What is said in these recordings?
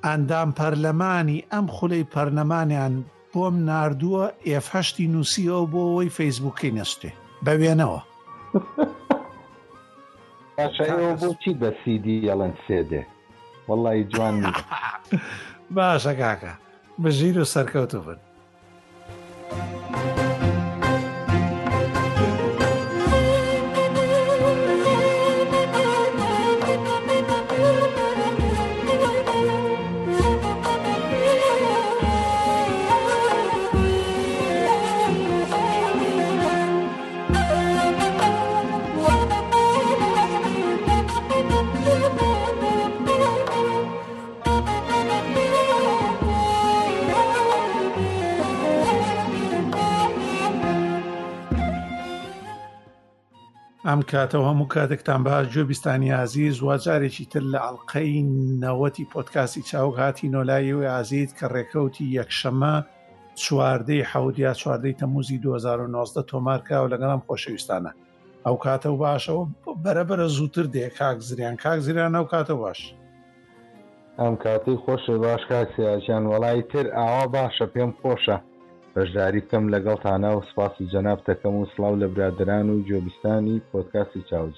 ئەندام پەرلەمانی ئەم خولەی پەرلەمانیان بۆم ناردووە F8 نووسیەوە بۆ ئەوەی فەیسبووکەی نەستێ بە وێنەوە. ئەوە بۆچی بە سیدی یەڵەن سێدێ وەڵی جوان باشە کاکە بژیر و سەرکەوتو بن. ئەم کاتەوە هەموو کاتێکتان باش گوێبیستانی عزیز وەجارێکی تر لە ئەڵقەی نەوەتی پۆدکاستی چاوگ هاتی نۆلایەوەی ئازیز کە ڕێکەوتی یەکشەمە 4 تەموزی 2019 تۆمارکراوە لەگەڵم خۆشەویستانە. ئەو کاتە و باشەوە بەرەبەرە زووتر دێ کاک زریان ئەو کاتە باش. ئەم کاتی خۆشە باش کاکسیاژیان وەڵی تر ئاوا باشە پێم خۆشە بەشداری بکەم لەگەڵتانە و سپاسی جەناب دەکەم و سڵاو لە برادران و گوێبیستانی پۆدکاستی چاوج.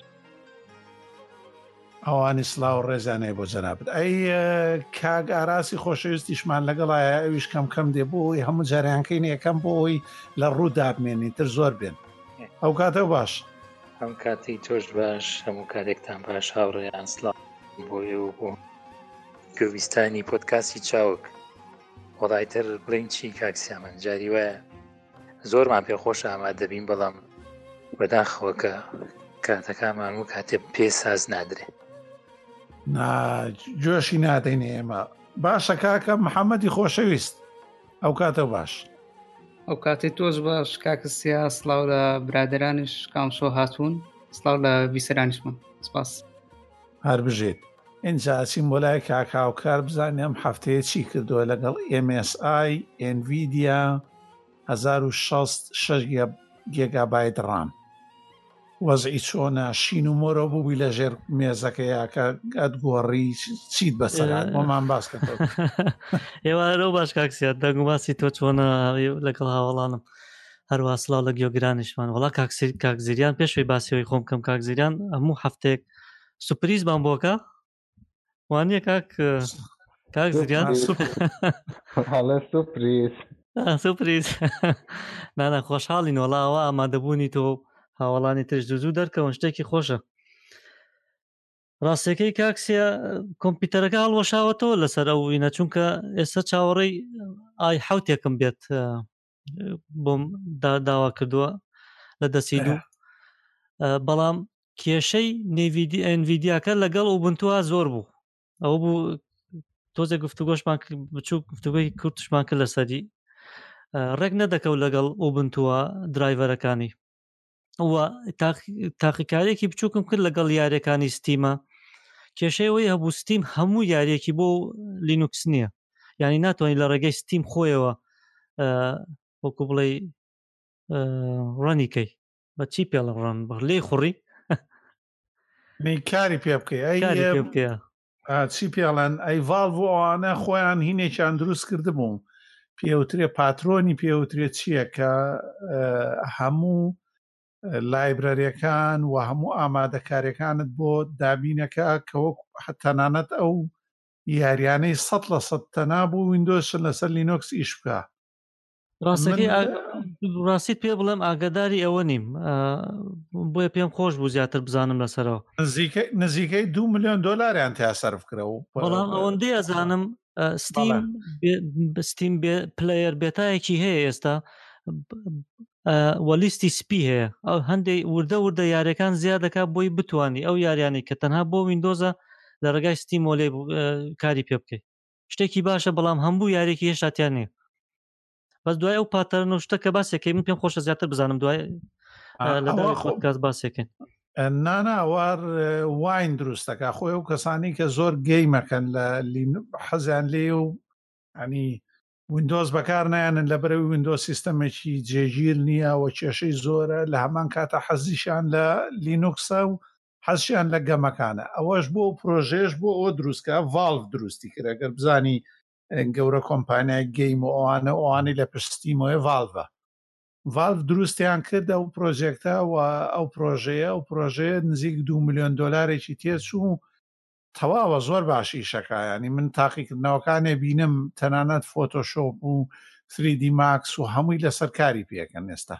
ئەوانی سڵاو و ڕێزانەیە بۆ جەنابەت. ئەی کاک ئاراسی خۆشەویستیشمان لەگەڵایە ئەویش کەم دێ بۆی هەموو جاریانکەین یەکەم بۆی لە ڕوو دابمێنی تر زۆر بێن. ئەو کاتە باش. ئەم کاتی تۆش باش هەموو کاتێکتان باش هاوڕێیان سڵاو بۆی و بۆ گوێبیستانی پۆدکاستی چاوگ. وەڵایتر بڵین چی کاکسیامەن جاری وایە زۆرمان پێخۆش ئامادەبین بەڵام بەداخەوە کە کاتەکانمان و کاتێ پێ ساز نادرێ جۆشی نادەینێ ئێمە. باشە کاکە محەممەدی خۆشەویست ئەو کاتە باش. ئەو کاتی تۆش باش کاکسیا سڵاو لە برادرانش کامشۆ هاتوون سڵاو لە بیسەرانیشمان سپاس. هەر بژێت اینجا چیم بۆ لای کاکاوکار بزانیم هەفتەیە چی کردووە لەگەڵ MSI NVIDIA 1606 گیگابایت ڕام وەزعی چۆنە شین و مۆرە بووبی لە ژێر مێزەکەیە کە ئەتگۆڕی چیت بەسەرات بۆمان باسکەوە. ئێوارە باش کاکسیات دەنگماسی تۆ چۆنە لەگەڵ هاوڵانم هەروە سڵاو لە گیۆگرانیشمان. وڵا کاکزیریان پێشوی باسیەوەی خۆم کەم کاکزیریان هەموو هەفتێک سوپریزمان بۆکە وانە کاک زریان سوپریز نانە خۆشحاڵین وەڵاوە ئامادەبوونی تۆ هاوڵانی ترش دوو دەرکەون شتێکی خۆشە. ڕاستەکەی کاکسیە کۆمپیوتەرەکە هەڵوەشاوەتەوە لەسەر ئەوینە چونکە ئێستا چاوەڕێی ئای حوتێکم بێت بۆم داوا کردووە لە دەسی دوو بەڵام کێشەی NVIDIAکە لەگەڵ ئوبنتووە زۆر بوو. ئەوە بوو تۆزێک گفتوگۆشمان بچوو گفتوگۆی کورتشمان کرد لەسەری ڕێک نەدەکەوت لەگەڵ ئوبنتووە درایڤەرەکانی وە تاقیکارێکی بچووکم کرد لەگەڵ یاریەکانی ستیمە. کێشەیەوەی هەبوو ستیم هەموو یاریەکی بۆ لینوکس نییە یعنی ناتوانین لە ڕێگەی ستیم خۆیەوە وەکو بڵێ ڕەنیکەی بە چی پێڵە ڕەن لێ خوڕی کاری پێ بکەی چی پێڵەن ئەی ڤالڤ ئەوانە خۆیان هینێکیان دروست کرده بووم پێوترێ پاترۆنی پێوترێت چییە کە هەموو لایبرەریەکان و هەموو ئامادەکاریەکانت بۆ دابینەکە کە وەک تەنانەت ئەو یاریانەی 100% تەنا بوو ویندۆز لەسەر لینۆکس ئیش بکە. ڕاستیت پێ بڵێم ئاگاداری ئەوە نیم بۆیە پێم خۆش بوو زیاتر بزانم لەسەرەوە. نزیکەی 2 ملیۆن دۆلاریان تا سەرف کرەوە بەڵام ئەوەندەی ئەزانم ستیم پلەیەر بێتایەکی هەیە ئێستا وەلیستی سپی هەیە ئەو هەندێک وردە یاریەکان زیاد دەکات بۆی بتوانانی ئەو یاریانی کە تەنها بۆ ویندۆزە لە ڕێگای ستیم لێ کاری پێ بکەیت شتێکی باشە بەڵام هەموو یاریێکی هێشتاتیان نیە. بەس دوای ئەو پاتەرن و شتە کە باسێکەکەی من پێم خۆشە زیاتر بزانم دوای لەداوای پۆدکاست باسێکن. ناناوار واین دروستەکە خۆی ئەو کەسانی کە زۆر گەیمەکەن لە حەزیان لێ و ینی ویندۆز بەکار نایانن لە بەرەوی ویندۆز سیستەمێکی جێگیر نییە و کێشەی زۆرە لە هەمان کاتە حەزیشان لە لینوکسە و حەزیان لە گەمەکانە. ئەوەش بۆ پرۆژێش بۆ ئەوە دروستکە ڤالڤ دروستی کرد. ئەگەر بزانی گەورە کۆمپانیای گەیم و ئەوانەی لە پشتیمەوەی ڤالڤ دروستیان کردە و پرۆژێکتە و ئەو پرۆژەیە نزیک 2 ملیۆن دۆلارێکی تێچوو تەواوە زۆر باشی شەکایانی من تاقیکردنەوەکانێ بینم تەنانەت فۆتۆشۆپ و 3D ماکس و هەمووی لەسەر کاری پێکەن ئێستا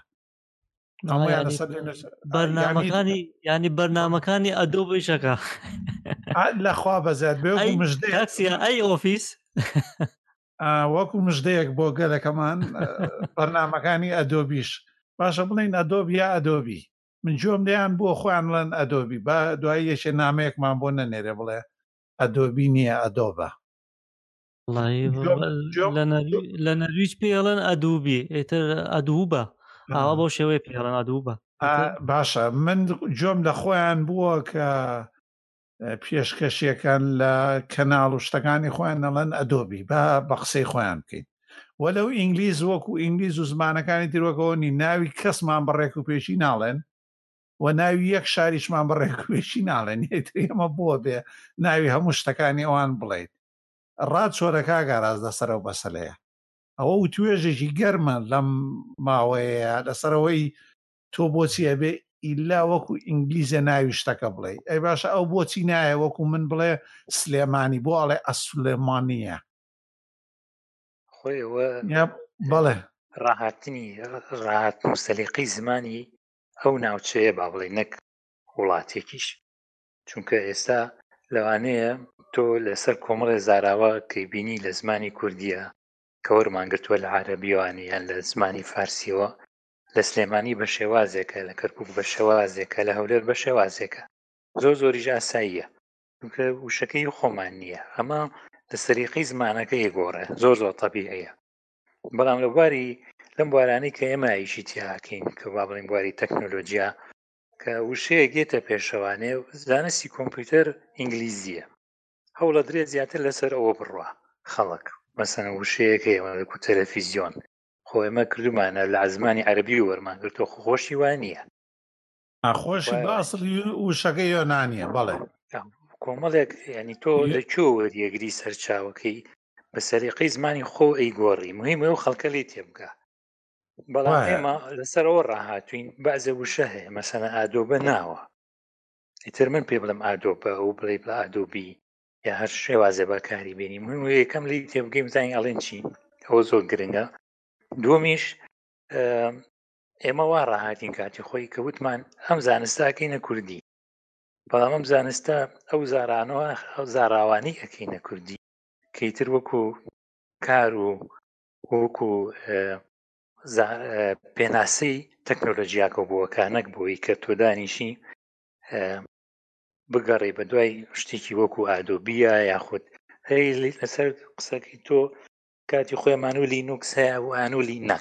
بەرنامەکانی ینی بەرنامەکانی ئەدۆبی شەکە لەخوا بەزات بێ ئەی ئۆفیس وەکو مژدەیەک بۆ گەلەکەمان بەرنامەکانی ئەدۆبیش باشە بڵین ئەدۆب یا ئەدۆبی من جۆم دەیان بۆ خۆیان لەن ئەدۆبی بە دوای یەکێ نامەیەکمان بۆ نەنێرێ بڵێ ئەدۆبی نییە ئەدۆبە لە نەرویج پێڵەن ئەدوبی ئێتر ئەدووبە ئاوا بۆ شێوەیە پێڵەن ئەدووبە باشە من جۆم لە خۆیان بووە کە پێشکەشیەکان لە کەناڵ و شتەکانی خۆیان نەڵەن ئەدۆبی بە قسەی خۆیان بکەین وەلەو ئینگلیز وەکو ئینگلیز و زمانەکانی تیرۆکەوەنی ناوی کەسمان بەڕێک و پێشی ناڵێن و ناوی یەک شاریشمان بەڕێک و پێشی ناڵێن ئێمە بۆ بێ ناوی هەموو شتەکانی ئەوان بڵێیت ڕاد چۆرەکە گاراز لەسەرەوە بەسەلەیە ئەوە و توێژێکی گەرمە لەم ماوەیە لەسەرەوەی تۆ بۆچی ئەبێ ئیلا وەکو ئینگلیزە ناوی شتەکە بڵێ ئەی باشە ئەو بۆچی نایە وەکو من بڵێ سلێمانی بۆ ئەڵێ ئەسلێمانیە خۆیەوە بەڵێ ڕاهاتنی ڕاهات مستەلیقی زمانی ئەو ناوچەیە با بڵێ نەک وڵاتێکیش چونکە ئێستا لەوانەیە تۆ لەسەر کۆمەڵێ زاراوە کەی بینی لە زمانی کوردیە کە وەرمانگرتووە لە عەرەبیوانی یان لە زمانی فارسیەوە لە سلێمانی بە شێوازێکە لە کەرکووک بە شێوازێکە لە هەولێر بە شێوازێکە زۆریش ئاساییە چونکە وشەکەی خۆمان نییە ئەمە لە سەریقی زمانەکە یەگۆڕێ زۆر تەبیعیە بەڵام لە بواری لەم بوارانەی کە ئێمە ئیشی تیاکەین کە با بڵین بواری تەکنۆلۆجیا کە وشەیە گێتە پێشەوانێ زانستی کۆمپیوتەر ئینگلیزیە هەوڵە درێت زیاتر لەسەر ئەوە بڕوە خەڵک مەسەن وشەیەکە ئێمە وەکو تەلەڤیزیۆن خۆ ئێمە کردومانە لە زمانی عەرەبی وەرمانگرتووە خۆشی وان نییە خۆشی باسڵی وشەکە یۆنانیە بەڵێ کۆمەڵێک ینی تۆ لەکوێ وەریەگری سەرچاوەکەی بە سەریقەی زمانی خۆ ئەیگۆڕی مهمە و خەڵکە لێ تێبگا بەڵام ئێمە لەسەرەوە ڕاهاتوین بەعزە وشە هەیە مەسەنە ئادۆبە ناوە ئیتر من پێ بڵم ئادۆبە ئەو بڵێ بڵە ئادۆبی یا هەر شێوازە بەکاری بێنی مهم یەکەم لی تێبگەی بزانین ئەڵێن چی ئەوە زۆر گرنگە دووەمیش ئێمە وا ڕاهاتین کاتی خۆی کە وتمان ئەم زانستاکەینە کوردی بەڵام ئەم زانستە ئەو زارانەوە ئەو زاراوانی ئەکەینە کوردی کەیتر وەکو کار و وەکو پێناسەی تەکنۆلۆژیاکە بووەکانەک بۆی کە تۆ دانیشی بگەڕێ بە دوای شتێکی وەکو ئادۆبیە یاخود هەی لەسەر قسەکەی تۆ کاتی خۆیمان و لینوکس هەیە و ئان و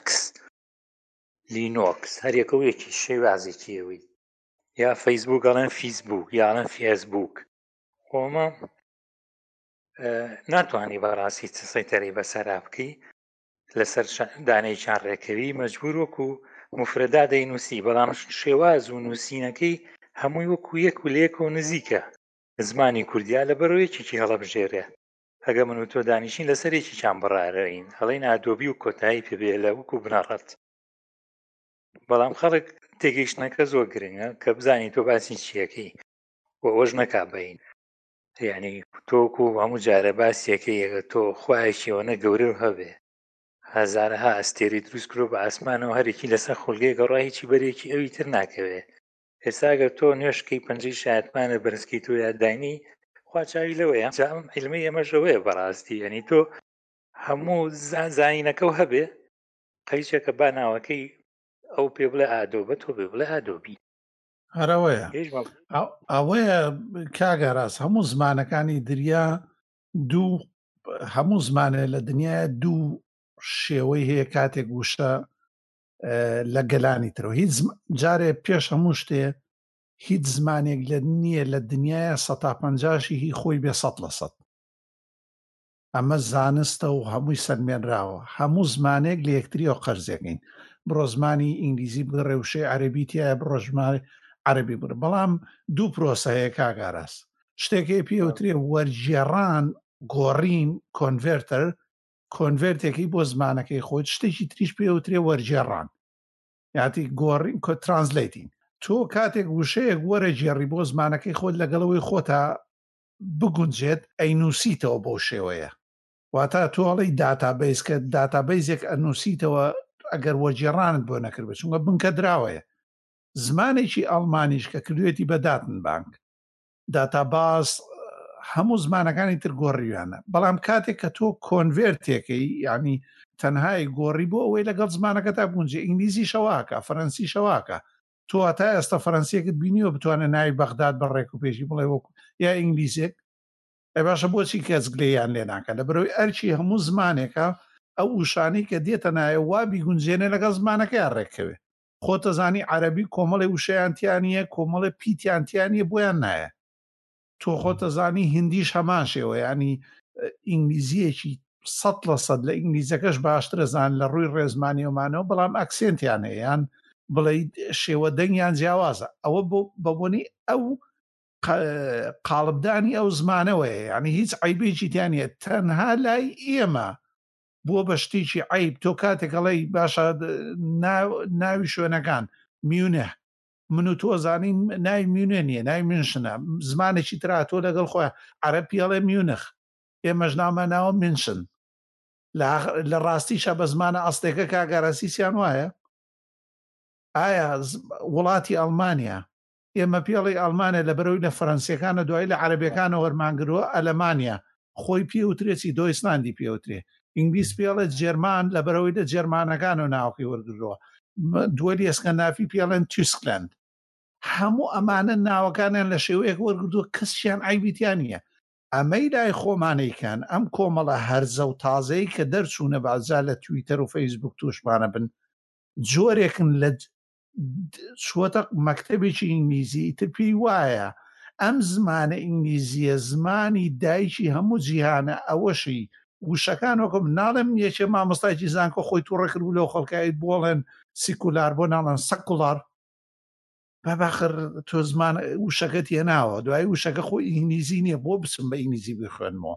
لینۆکس هەرێکەوەیەکی شێوازێکیەوەی یا فەیسبوک ئەڵێن فیسبوک یاڵەن فێسبوک خۆمە ناتوانانی بەڕاستی سەیتەرەی بەسەرا بکەی لەسەر دانەیەکیان ڕێکەوی مەجبور وەکو مفرەدا دەینووسی بەڵام شێواز و نووسینەکەی هەمووی وەکو یەک و لێکە و نزیکە زمانی کوردیا لە بەرەوەیەکێکی هەڵەبژێرێ ئەگە من و تۆ دانیشین لەسەرێکی چان بڕارەین هەڵین ئادۆبی و کۆتایی پێبێ لە وەکو بنەڕەت بەڵام خەڵک تێگەیشتنەکە زۆر گرنگە کە بزانی تۆ باسی چیەکەی و ئەوەش نەکابین یعنی تۆکو هەموو جارە باسیەکەیەکە تۆ خوایەکیەوەنە گەورە هەبێ هەزارها ئەستێری دروست کرۆ بە ئاسمانەوە هەرێکی لەسەر خولگەی گەڕا هیچی بەرێکی ئەوی تر ناکەوێ ئێستاگەر تۆ نوێشکەی پەنجەی شایەتمانە بەرزکەی تۆ یادداینی خواچاوی لەوەیە جام علمی ئەمەژەوەیە بەڕاستی ینی تۆ هەموو زانینەکە و هەبێ قەیچێکە با ناوەکەی ئەو پێ بڵێ ئادۆبە تۆ پێ بڵێ ئادۆبی هەرەوەیە ئەوەیە کاگەڕاست هەموو زمانەکانی دریا دوو هەموو زمانە لە دنیای دوو شێوەی هەیە کاتێک وشە لە گەلانی ترەوە هیچ جارێ پێش هەموو شتێ هیچ زمانێک لە نییە لە دنیای 150 هی خۆی بێ 100%. ئەمە زانستە و هەمووی سەرمێنراوە هەموو زمانێک لە یەکتریەوە قەرزەکەین بڕۆ زمانی ئینگلیزی بڕێ وشەی عەرەبی تایە بڕۆ عەربی بڕ بەڵام دوو پرۆسەیە کاگاراس شتێکی پێوترێ وەرجێڕان گۆڕین کۆنڤێرتێکی بۆ زمانەکەی خۆت شتێکی تریش پێوترێ وەرجێڕان یاتی گۆڕین ترانسلیتین تۆ کاتێک وشەیەک وەرە جێڕی بۆ زمانەکەی خۆت لەگەڵەوەی خۆتا بگونجێت ئەینووسیتەوە بۆ شێوەیە واتە تۆڵی داتابیس کە داتابیزێک ئەنووسیتەوە ئەگەر وەرجێڕانت بۆ نەکرد بە چونکە بنکە دراوەیە زمانێکی ئەڵمانیش کە کردوێتی بە داتن بانک داتاباس هەموو زمانەکانی تر گۆڕیوانە بەڵام کاتێک کە تۆ کۆنڤێرتێکەی یعنی تەنهای گۆڕی بۆ ئەوەی لەگەڵ زمانەکە تا بونجێ ئینگلیزی شەواکە فەرەنسی شەواکە تۆ تا ئێستا فەرەنسیەکەت بینیوە بتوانە ناوی بەغداد بەڕێک و پێشی بڵێ وەکو یا ئینگلیزێک ئەی باشە بۆچی کەس گلەیان لێ ناکە لە بەرەوەی ئەرچی هەموو زمانێکە ئەو وشانەی کە دێتە نایە وا بیگونجێنێ لەگەڵ زمانەکەیان ڕێکەوێ خۆتە زانی عەرەبی کۆمەڵی وشەیانتیانە کۆمەڵی پیتیانتیانە بۆیان نایە تۆ خۆتە زانی هندیش هەمان شێوە ینی ئینگلیزیەکی 100% لە ئینگلیزەکەش باشترە زان لە ڕووی ڕێزمانیەوەمانەوە بەڵام ئەکسێنتیان هەیە یان بڵێ شێوە دەنگیان جیاوازە ئەوە بەبوونی ئەو قاڵبدانی ئەو زمانەوەیە ینی هیچ عیبێکی تیانە تەنها لای ئێمە بووە بە شتێکی عیب تۆ کاتێکەڵی باشە ناوی شوێنەکان میونە من و تۆ زانین ناوی میونێ نییە ناوی منشنە زمانێکی ترا تۆ لەگەڵ خۆیان عەرەب پیاڵێ میونخ ئێمەش ناومە ناوە منشن لە ڕاستیشە بە زمانە ئەستێکە کاگەرەسیسیان وایە ئایا وڵاتی ئەڵمانیا ئێمە پیاڵی ئەڵمانیا لە بەرەوەی لە فەرەنسیەکانە دوای لە عەرەبیەکانە وەرمانگرەوە ئەلەمانیا خۆی پێوترێتی دۆیسلاندی پێوترێ ئینگلیس پیاڵێت جێرمان لە بەرەوەی لە جێرمانەکان و ناوکی وەرگرەوە دووەلی ئەسکەنافی پیاڵێن تویسکلند هەموو ئەمانە ناوەکانیان لە شێوەیەک وەرگردووە کەسیان عیبیتیان نییە ئەمەی لای خۆمانەیکەن ئەم کۆمەڵە هەرزە و تازەی کە دەرچوونە بازا لە تویتەر و فەیسبوک توشمانە بن جۆرێکن لە چوەتە مەکتەبێکی ئینگلیزی تر پێی وایە ئەم زمانە ئینگلیزیە زمانی دایکی هەموو جیهانە ئەوەشی وشەکان وەکم ناڵێم یەکێ مامۆستایکی زانکۆ خۆی تووڕەکرد و لەو خەڵکایی بۆڵێن سیکولار بۆ ناڵێن سەکوڵار بەباخر تۆ زمان وشەکەت هێناوە دوای وشەکە خۆی ئینگلیزی نییە بۆ بچم بە ئینگلیزی بخوێنمەوە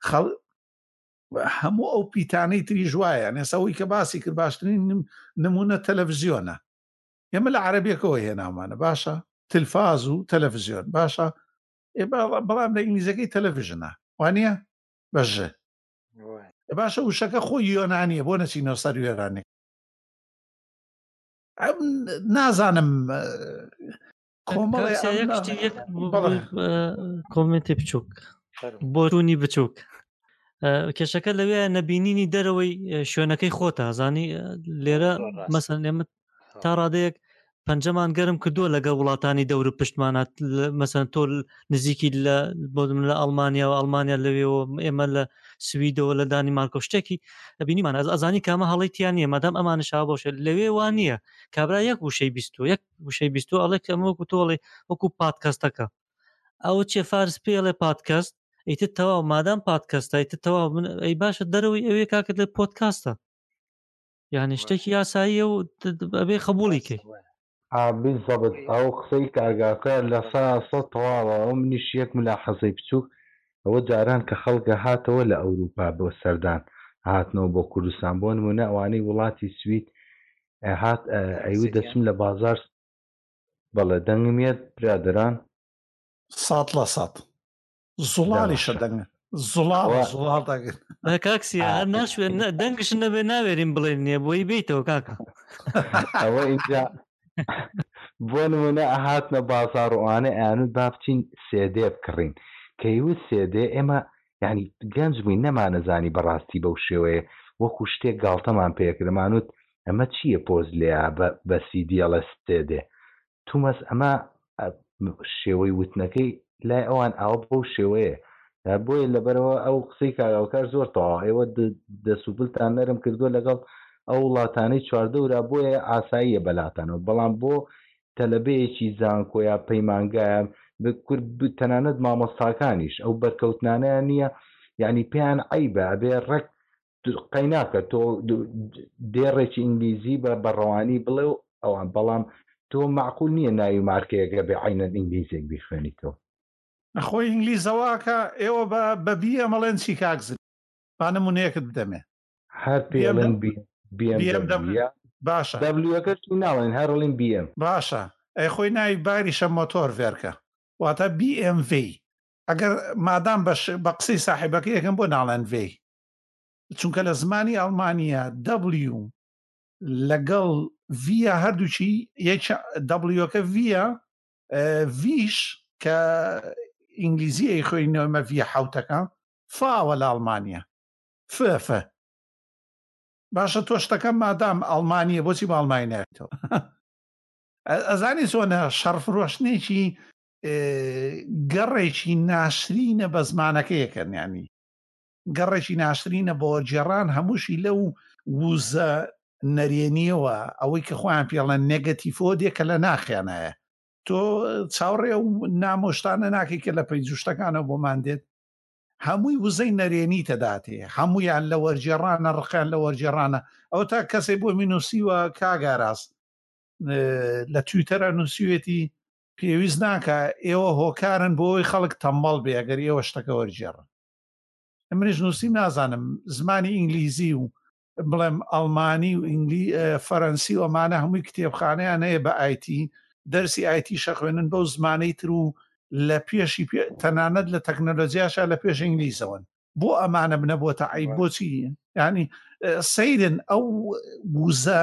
هەموو ئەو پیتانەی تری ژوایە نێسەوەی کە باسی کرد باشترین نمونە تەلەڤیزیۆنە ئێمە لە عەرەبیەکەوە هێناومانە باشە تلفاز و تەلەڤیزیۆن باشە بەڵام لە ئینگلیزەکەی تەلەڤیژنە وانە بەژێ باشە وشەکە خۆی یۆنانیە بۆ نەچینەوە سەر وێرانێک نازانم کۆمنتی بچووک بۆرونی بچووک کێشەکە لەوێ نەبینینی دەرەوەی شوێنەکەی خۆتە زانی لێرە مەسەن ئێمە تا ڕادەیەک پەنجەمان گەرم کردووە لەگەڵ وڵاتانی دەور پشتمانات مەسەن تۆ نزیکی لە ئەڵمانیا و ئەڵمانیا لەوێەوە ئێمە لە سویدەوە لە دانیمارکۆ شتێکی بینیمان ئەزانی کامە هەڵیتیان نیە مادام ئەمانشا بۆشێت لەوێ وان نییە کابرا یەک وشەی بیست ئەڵێک ئەمە وەکو تۆڵێ وەکو پادکەستەکە ئەوە چێ فارس پێڵێ پادکەست ئیتر تەواو مادام پادکەستە ئیتر تەواو ئەی باشە دەرەوەی ئەوێ کاکرد لە پۆدکاستە یعنی شتێکی یاساییە و ئەبێ قبوڵی کەی بالضبط ئەو قسەی کارگاکە لە ساسە تەواوە ئەو منیش یەک ملاحەزەی بچووک ئەوە جاران کە خەڵکە هاتەوە لە ئەوروپا بۆ سەردان هاتنەوە بۆ کوردستان بۆ نمونە ئەوانەی وڵاتی سوید هات ئەیوە دەچم لە بازار بەڵێ دەنگمێت برادران 100% زوڵالیشە دەنگە زوڵاڵ کاکسی هەر ناشوێن دەنگش نەبێ ناوێرین بڵێن نییە بۆی بیتەوە کاکە ئەوە اینجا بۆ نمونە ئەهاتنە بازار وانە ئەیانوت با بچین سێدێ بکڕین کە هیوت سێدێ ئێمە یعنی گەنج بووین نەمانەزانی بەڕاستی بەو شێوەیە وەکو شتێک گاڵتەمان پێکردمانوت ئەمە چییە پۆز لێە بە سیدیڵە سێدێ تومەس ئەمە شێوەی وتنەکەی لای ئەوان ئاوە بەو شێوەیە بۆیە لەبەرەوە ئەو قسەی کاگاوکار زۆر تەواو ئێوە دەسوبلتان نەرم کردووە لەگەڵ ئەو وڵاتانەی چواردەورا بۆیە ئاساییە بەلاتانەوە بەڵام بۆ تەلەبەیەکی زانکۆ یا پەیمانگایە تەنانەت مامۆستاکانیش ئەو بەرکەوتنانەیە نییە یعنی پێیان عیبە ئەبێ ڕێک قەیناکە تۆ دێڕێکی ئینگلیزی بە بەڕەوانی بڵێ و ئەوان بەڵام تۆ معقول نییە ناوی مارکەیەگە بە عینەن ئینگلیزێک بیخوێنیتەوە. نەخۆی ئینگلیزەواکە ئێوە بە بی ئەمەڵێن چی کاکزن با نمونەیەکت بدەمێ هەر پێڵێن باشە دەبلیوەکەش ناڵێن هەرڵین BM باشە ئەی خۆی ناوی باریشە مۆتۆر ڤێرکە واتە BMW ئەگەر مادام بە قسەی ساحیبەکە یەکەم بۆ ناڵێن V چونکە لە زمانی ئەڵمانیا W لەگەڵ ڤە هەردووچی Wەکە ڤیش کە ئینگلیزی ئەی خۆی نۆمە ڤە حوتەکە فاوە لە ئەڵمانیا فە باشە تۆ شتەکە مادام ئەڵمانیە بۆچی بە ئەڵمانی ناوێتەوە ئەزانی چۆنە شەڕفرۆشتنێکی گەڕێکی ناشرینە بە زمانەکەیەکەن ینی گەڕێکی ناشرینە بۆ جێڕان هەمووشی لەو وزە نەرێنیەوە ئەوەی کە خۆیان پێڵەن نێگەتیفۆ دێکە لە ناخیانایە تۆ چاوڕێ و نامۆشتانە ناکەی کە لە پەیجوشتەکانەوە بۆمان دێت هەمووی وزەی نەرێنی تەداتێ هەمویان لە وەرجێڕانە ڕقیان لە وەرجێڕانە ئەو تا کەسێ بۆ مینوسیوە کاگاراست لە تویتەرە نووسوێتی پێویست ناکە ئێوە هۆکارن بۆی خەڵک تەمبەڵ بێ ئەگەر ئێوە شتەکە وەرجێڕن منیش نووسیم نازانم زمانی ئینگلیزی و بڵێم ئەڵمانی و فەرەنسی و ئەمانە هەمووی کتێبخانەیان هەیە بە ئایتی دەرسی ئایتی شەخوێنن بەو زمانەی تر و لە پێشی تەنانەت لە تەکنۆلۆجیاشە لە پێش ئینگلیزەوەن بۆ ئەمانە بنەبووتە عیب بۆچی ینی سەیرن ئەو وزە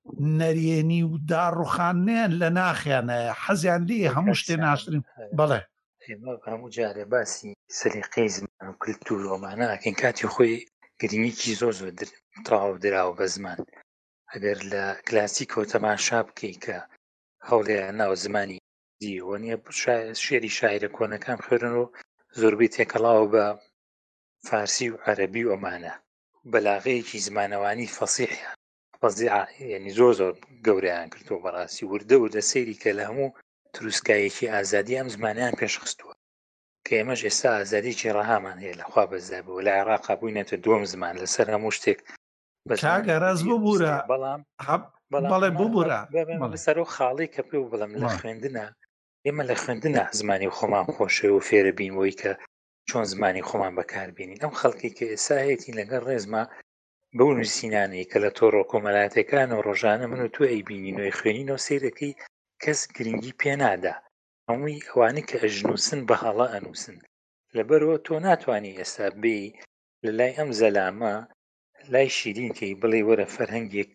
نەرێنی و داڕوخانیان لە ناخیانە حەزیان لێ هەموو شتێ ناشرین بەڵێ هەموو جارێ باسی سەلیقەی زمان و کلتور ئەمانەکەن کاتی خۆی گرنگیکی زۆر تەواو دراوە بە زمان ئەگەر لە کلاسیکەوە تەماشا بکەی کە هەوڵێ ناو زمانی دیوە نیە شێری شاعرە کۆنەکان خوێرن و زۆربەی تێکەڵاوە بە فارسی و عەرەبی و ئەمانە بەلاغەیەکی زمانەوانی فەسیحیان یعنی زۆر گەورەیان کردووە بەڕاستی وردە سەیری کە لە هەموو تروسکایەکی ئازادی ئەم زمانیان پێشخستووە کە ئێمەش ئێستا ئازادیی ڕەهامان هەیە لەخوا بەزابەوە لە عێراقا بووینەتە دووەم زمان لەسەر هەموو شتێک کاگەڕاز ببوورە بەڵێ ببوورە لەسەر خاڵی کە پێ و بڵم لە خوێندنە ئێمە لە خوێندنە زمانی خۆمان خۆشەوە و فێرە بینەوەی کە چۆن زمانی خۆمان بەکاربێنین ئەم خەڵکی کە ئێستا هەیەی لەگەڵ ڕێزما بەو نووسینانەی کە لە تۆڕۆ کۆمەلاتەکان و ڕۆژانە من و تو ئەیبینینەوەی خوێنینەوە سیرەکەی کەس گرنگی پێنادا هەمووی ئەوانەی کە ئەژنووسن بە هەڵە ئەنووسن لەبەرەوە تۆ ناتوانانی ئێستا بێ لە لای ئەم زەلامە لای شیرینکەی بڵێ وەرە فەرهەنگێک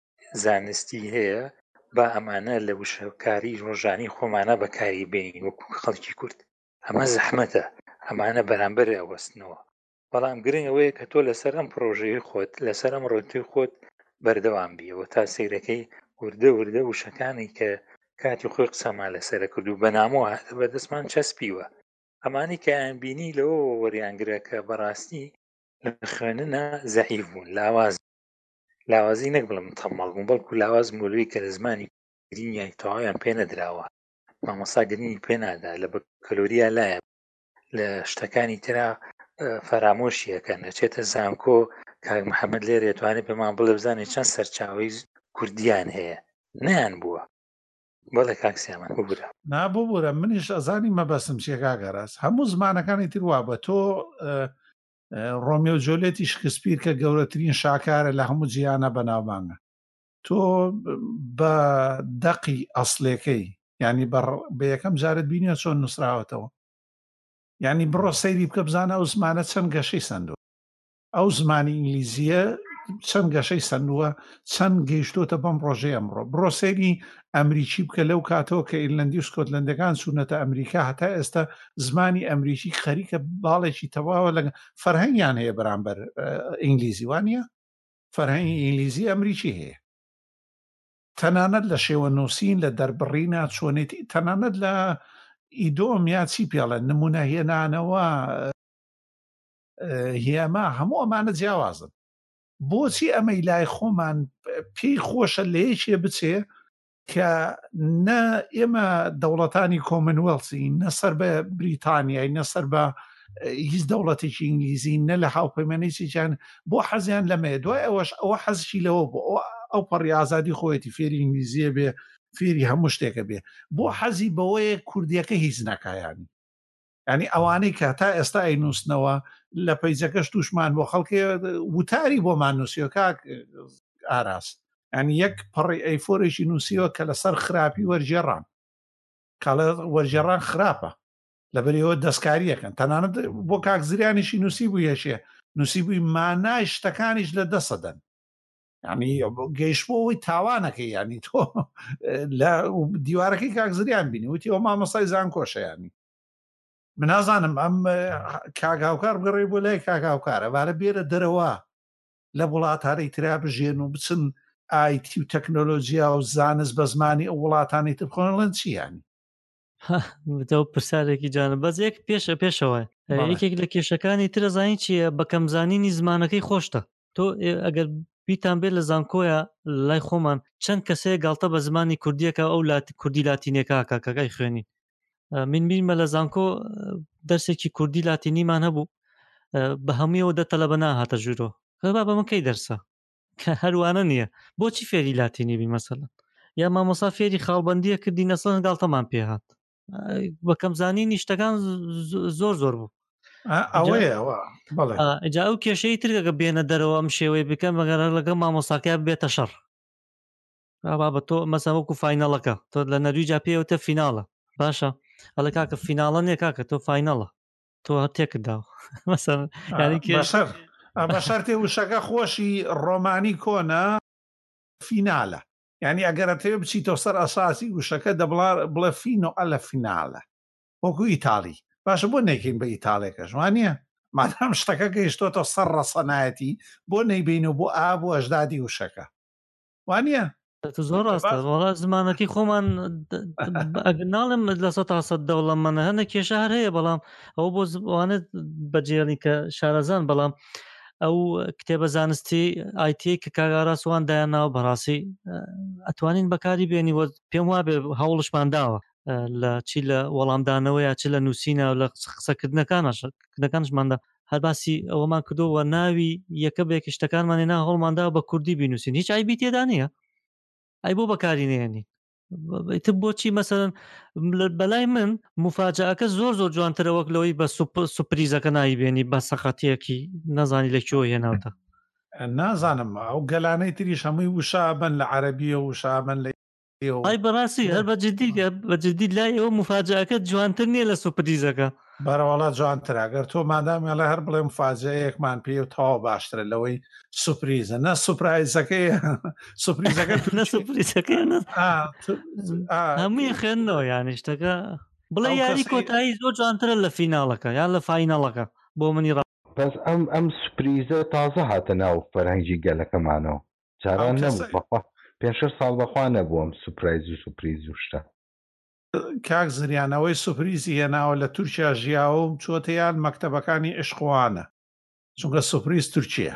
زانستی هەیە با ئەمانە لە وشەکاری ڕۆژانی خۆمانە بەکاری بێنین وەکو خەڵکی کورد ئەمە زەحمەتە ئەمانە بەرامبەر ئەوەستنەوە بەڵام گرنگ ئەوەیە کە تۆ لەسەر ئەم پرۆژەی خۆت لەسەر ئەم ڕۆتوی خۆت بەردەوام بیەوە تا سەیرەکەی وردە وشەکانی کە کاتی خۆی قسەمان لەسەرە کرد و بەنامەوە بەدەستمان چەسپیوە ئەمانی کە یان بینی لەوە وەریانگرە کە بەڕاستی لە خوێننە زەعیف بوون لاوازی نەک بڵم تەمەڵ بوون بەڵکو لاواز مولوی کە لە زمانی گرینیای تەواویان پێ نەدراوە مامۆستا گرنگی پێنادا لە بەکەلۆریە لایە لە شتەکانی ترا فەرامۆشیەکەن نەچێتە زانکۆ کاک محەممەد لێرە توانێت پێمان بڵێ بزانێت چەند سەرچاوی کوردیان هەیە نەیان بووە بەڵێ کاکسیامان ببوورە نابووبوورە منیش ئەزانی مەبەسم چێکاگەڕاست هەموو زمانەکانی تروا بە تۆ ڕۆمیۆ جۆلێتی شکسپیر کە گەورەترین شاکارە لە هەموو جیانە بەناوبانگە تۆ بە دەقی ئەسڵەکەی ینی بە یەکەم جارت بینیە چۆن نووسراوەتەوە ینی بڕۆ سەیری بکە بزانە ئەو زمانە چەند گەشەی سندووە ئەو زمانی ئینگلیزیە چەند گەشەی سندووە چەند گەیشتۆتە بەم ڕۆژەی ئەمڕۆ بڕۆ سەیری ئەمریکی بکە لەو کاتەوە کە ئیرلەندی و سکۆتلەندەکان چوونەتە ئەمریکا هەتا ئێستا زمانی ئەمریکی خەریکە باڵێکی تەواوە لە فەرهەنگیان هەیە بەرامبەر ئینگلیزی وانە فەرهەنگی ئینگلیزی ئەمریکی هەیە تەنانەت لە شێوە نووسین لە دەربڕینە چۆنێتی تەنانەت لە ئیدۆم یا چی پێڵێن نمونە هێنانەوە هێما هەموو ئەمانە جیاوازن بۆچی ئەمەی لای خۆمان پێی خۆشە لە یەکێ بچێ کە نە ئێمە دەوڵەتانی کۆمنوێڵسی نەسەر بە بریتانیای نەسەر بە هیچ دەوڵەتێکی ئینگلیزی نە لە هاوپەیمانێکیان بۆ حەزیان لەمەیە دوای ئەوەش ئەوە حەزشی لەوە بۆ ئەو پەڕی ئازادی خۆیەتی فێری ئینگلیزیە بێ فێری هەموو شتێکە بێ بۆ حەزی بەوەیە کوردیەکە هیچ نەکایانی ینی ئەوانەی کە تا ئێستا نووسنەوە لە پەیجەکەش تووشمان بۆ خەڵکی وتاری بۆمان نووسیۆ کاک ئاراس ینی یەک پەڕی ئەیفۆرێکی نووسیەوە کە لەسەر خراپی وەرجێڕان کاڵە وەرجێڕان خراپە لەبەرەوە دەستکاریەکەن تەنانەت بۆ کاک زریانیشی نووسی بوو یەشێ نووسی بووی مانای شتەکانیش لە دەسەدەن ینی گەیشتبووەوەی تاوانەکەی ینی تۆ لە دیوارەکەی کاک زریان بینی وتی ئەو مامۆسای زانکۆشە ینی من نازانم ئەم کاگااوکار بگەڕێ بۆ لای کاگااوکارە وارە بێرە دەرەوە لە وڵاتانەی ترا بژێن و بچن ئایتی و تەکنۆلۆژیا و زانست بە زمانی ئەو وڵاتانی تر خۆنڵەن چیانی پرسیارێکی جانە بەزێک پێشەوە یەکێک لە کێشەکانی ترە زانی چییە بەکەم زانینی زمانەکەی خۆشتە تۆ ئەگەر بیتان بێت لە زانکۆیە لای خۆمان چەند کەسەیە گاڵتە بە زمانی کوردیەکە ئەو کوردی لاتینێکا کاکەکەی خوێنی من بیرمە لە زانکۆ دەرسێکی کوردی لاتینیمان هەبوو بە هەموویەوە دەتەلە بە ناهاتە ژوورۆ با بە منکەی دەرسە کە هەروانە نییە بۆچی فێری لاتینی بی مەسەلەن یا مامۆسا فێری خاڵبەندیە کردی نەسڵن گاڵتەمان پێهات بەکەم زانینی شتەکان زۆر بوو ئەجا ئەو کێشەی ترگەکە بێنە دەرەوە ئەم شێوەی بکەم بەگەر لەگە مامۆساکە بێتە شەڕ بە تۆ مەسە وەکو فاینەڵەکە تۆ لە نەرویجا پێوتە فیناڵە باشە ئەڵە کاکە فیناڵە نیە کاکە تۆ فاینەڵە تۆ تێکرداوە مەسەن ینی بەشەر بەشەر تێ وشەکە خۆشی ڕۆمانی کۆنە فینالە ینی ئەگەرە تێ بچیتۆ سەر ئەساسی وشەکە بڵێ فینۆ ئەلە فینالە وەکو ئیتاڵی باشە بۆ نەیکەین بە ئیتاڵێکەش وانە مادام شتەکە گەیشتۆتە سەر ڕەسەنایەتی بۆ نەیبینە بۆ بۆ ئەژدادی وشەکە وانە زۆر ڕاستە وڵات زمانەکەی خۆمان ناڵم لە 100 دەوڵەمەە هەنە کێشە هەر هەیە بەڵام ئەو بۆ زوانێت بەجێڵی کە شارەزان بەڵام ئەو کتێبە زانستی ئایتی کە کاگاڕاستوان دایانناوە بەڕاستی ئەتوانین بەکاری بێنی وە پێم وابێ هەوڵشمان داوە لە چی لە وەڵامدانەوە یا چ لە نووسینە و لە قسەکردنەکانشماندا هەر باسی ئەوەمان کردووە ناوی یەکە بێکی شتەکانمانێ نا هەوڵماندا بە کوردی بینوسین هیچ ئایبی تێدا نییە ئەی بۆ بەکاری نێنی تر بۆچی مەسەرەن بەلای من مفاجعەکە زۆر جوانترە وەک لەوەی بە سوپریزەکە نایبێنی بە سەقەتیەکی نەزانی لەکوێ هێناوتە نازانم ئەو گەلانەی تریش هەمووی وشابن لە عەرەبیە و وشابن لە ئای بەڕاستی هەر بەجددی لای ئەوە مفاجعەکە جوانتر نییە لە سوپریزەکە بەرەوەڵات جوانتراگەر تۆ مادامیان لە هەر بڵێ مفاجەیەکمان پێ و تەواو باشترە لەوەی سوپریزە نە سوپرایزەکەی سوپریزەکە نە سوپریزەکەی هەمووی خوێندنەوە یانی شتەکە بڵێ یاری کۆتایی زۆر جوانترە لە فیناڵەکە یان لە فاینەڵەکە بۆ منی بەس ئەم سوپریزە تازە هاتە ناو فەرهەنگی گەلەکەمانەوە جاران نەبوو بەخوا 5 ساڵ بەخوا نەبووم سوپرایز و سوپریز و شتە کاک زریانەوەی سوپریزی هێناوە لە تورکیا ژیاوە و چۆتەیان مەکتەبەکانی عشقوانە چونکە سوپریز تورکیە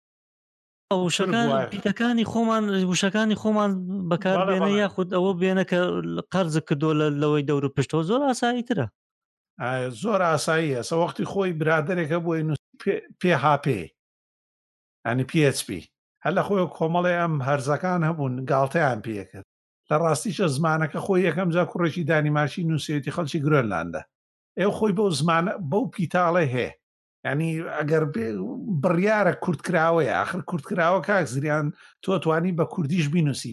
وشەکانی خۆمان بەکاربێنە یاخود ئەوە بێنە کە قەرز کردو لەوەی دەور و پشتەوە زۆر ئاساییترە زۆر ئاسایی هەسە وەختی خۆی برادێکە بۆی PHP ینی PHP هەر لە خۆی کۆمەڵی ئەم هەرزەکان هەبوون گاڵتەیان پێکرد لە ڕاستیشە زمانەکە خۆی یەکەم جا کوڕێکی دانیمارشی نووسێتی خەڵکی گرۆنلاندە ئێوە خۆی بەو زمانە بەو پیتاڵێ هەیە ینی ئەگەر بڕیارە کوردکراوەیە آخر کوردکراوە کاک زریان تۆ توانی بە کوردیش بینوسی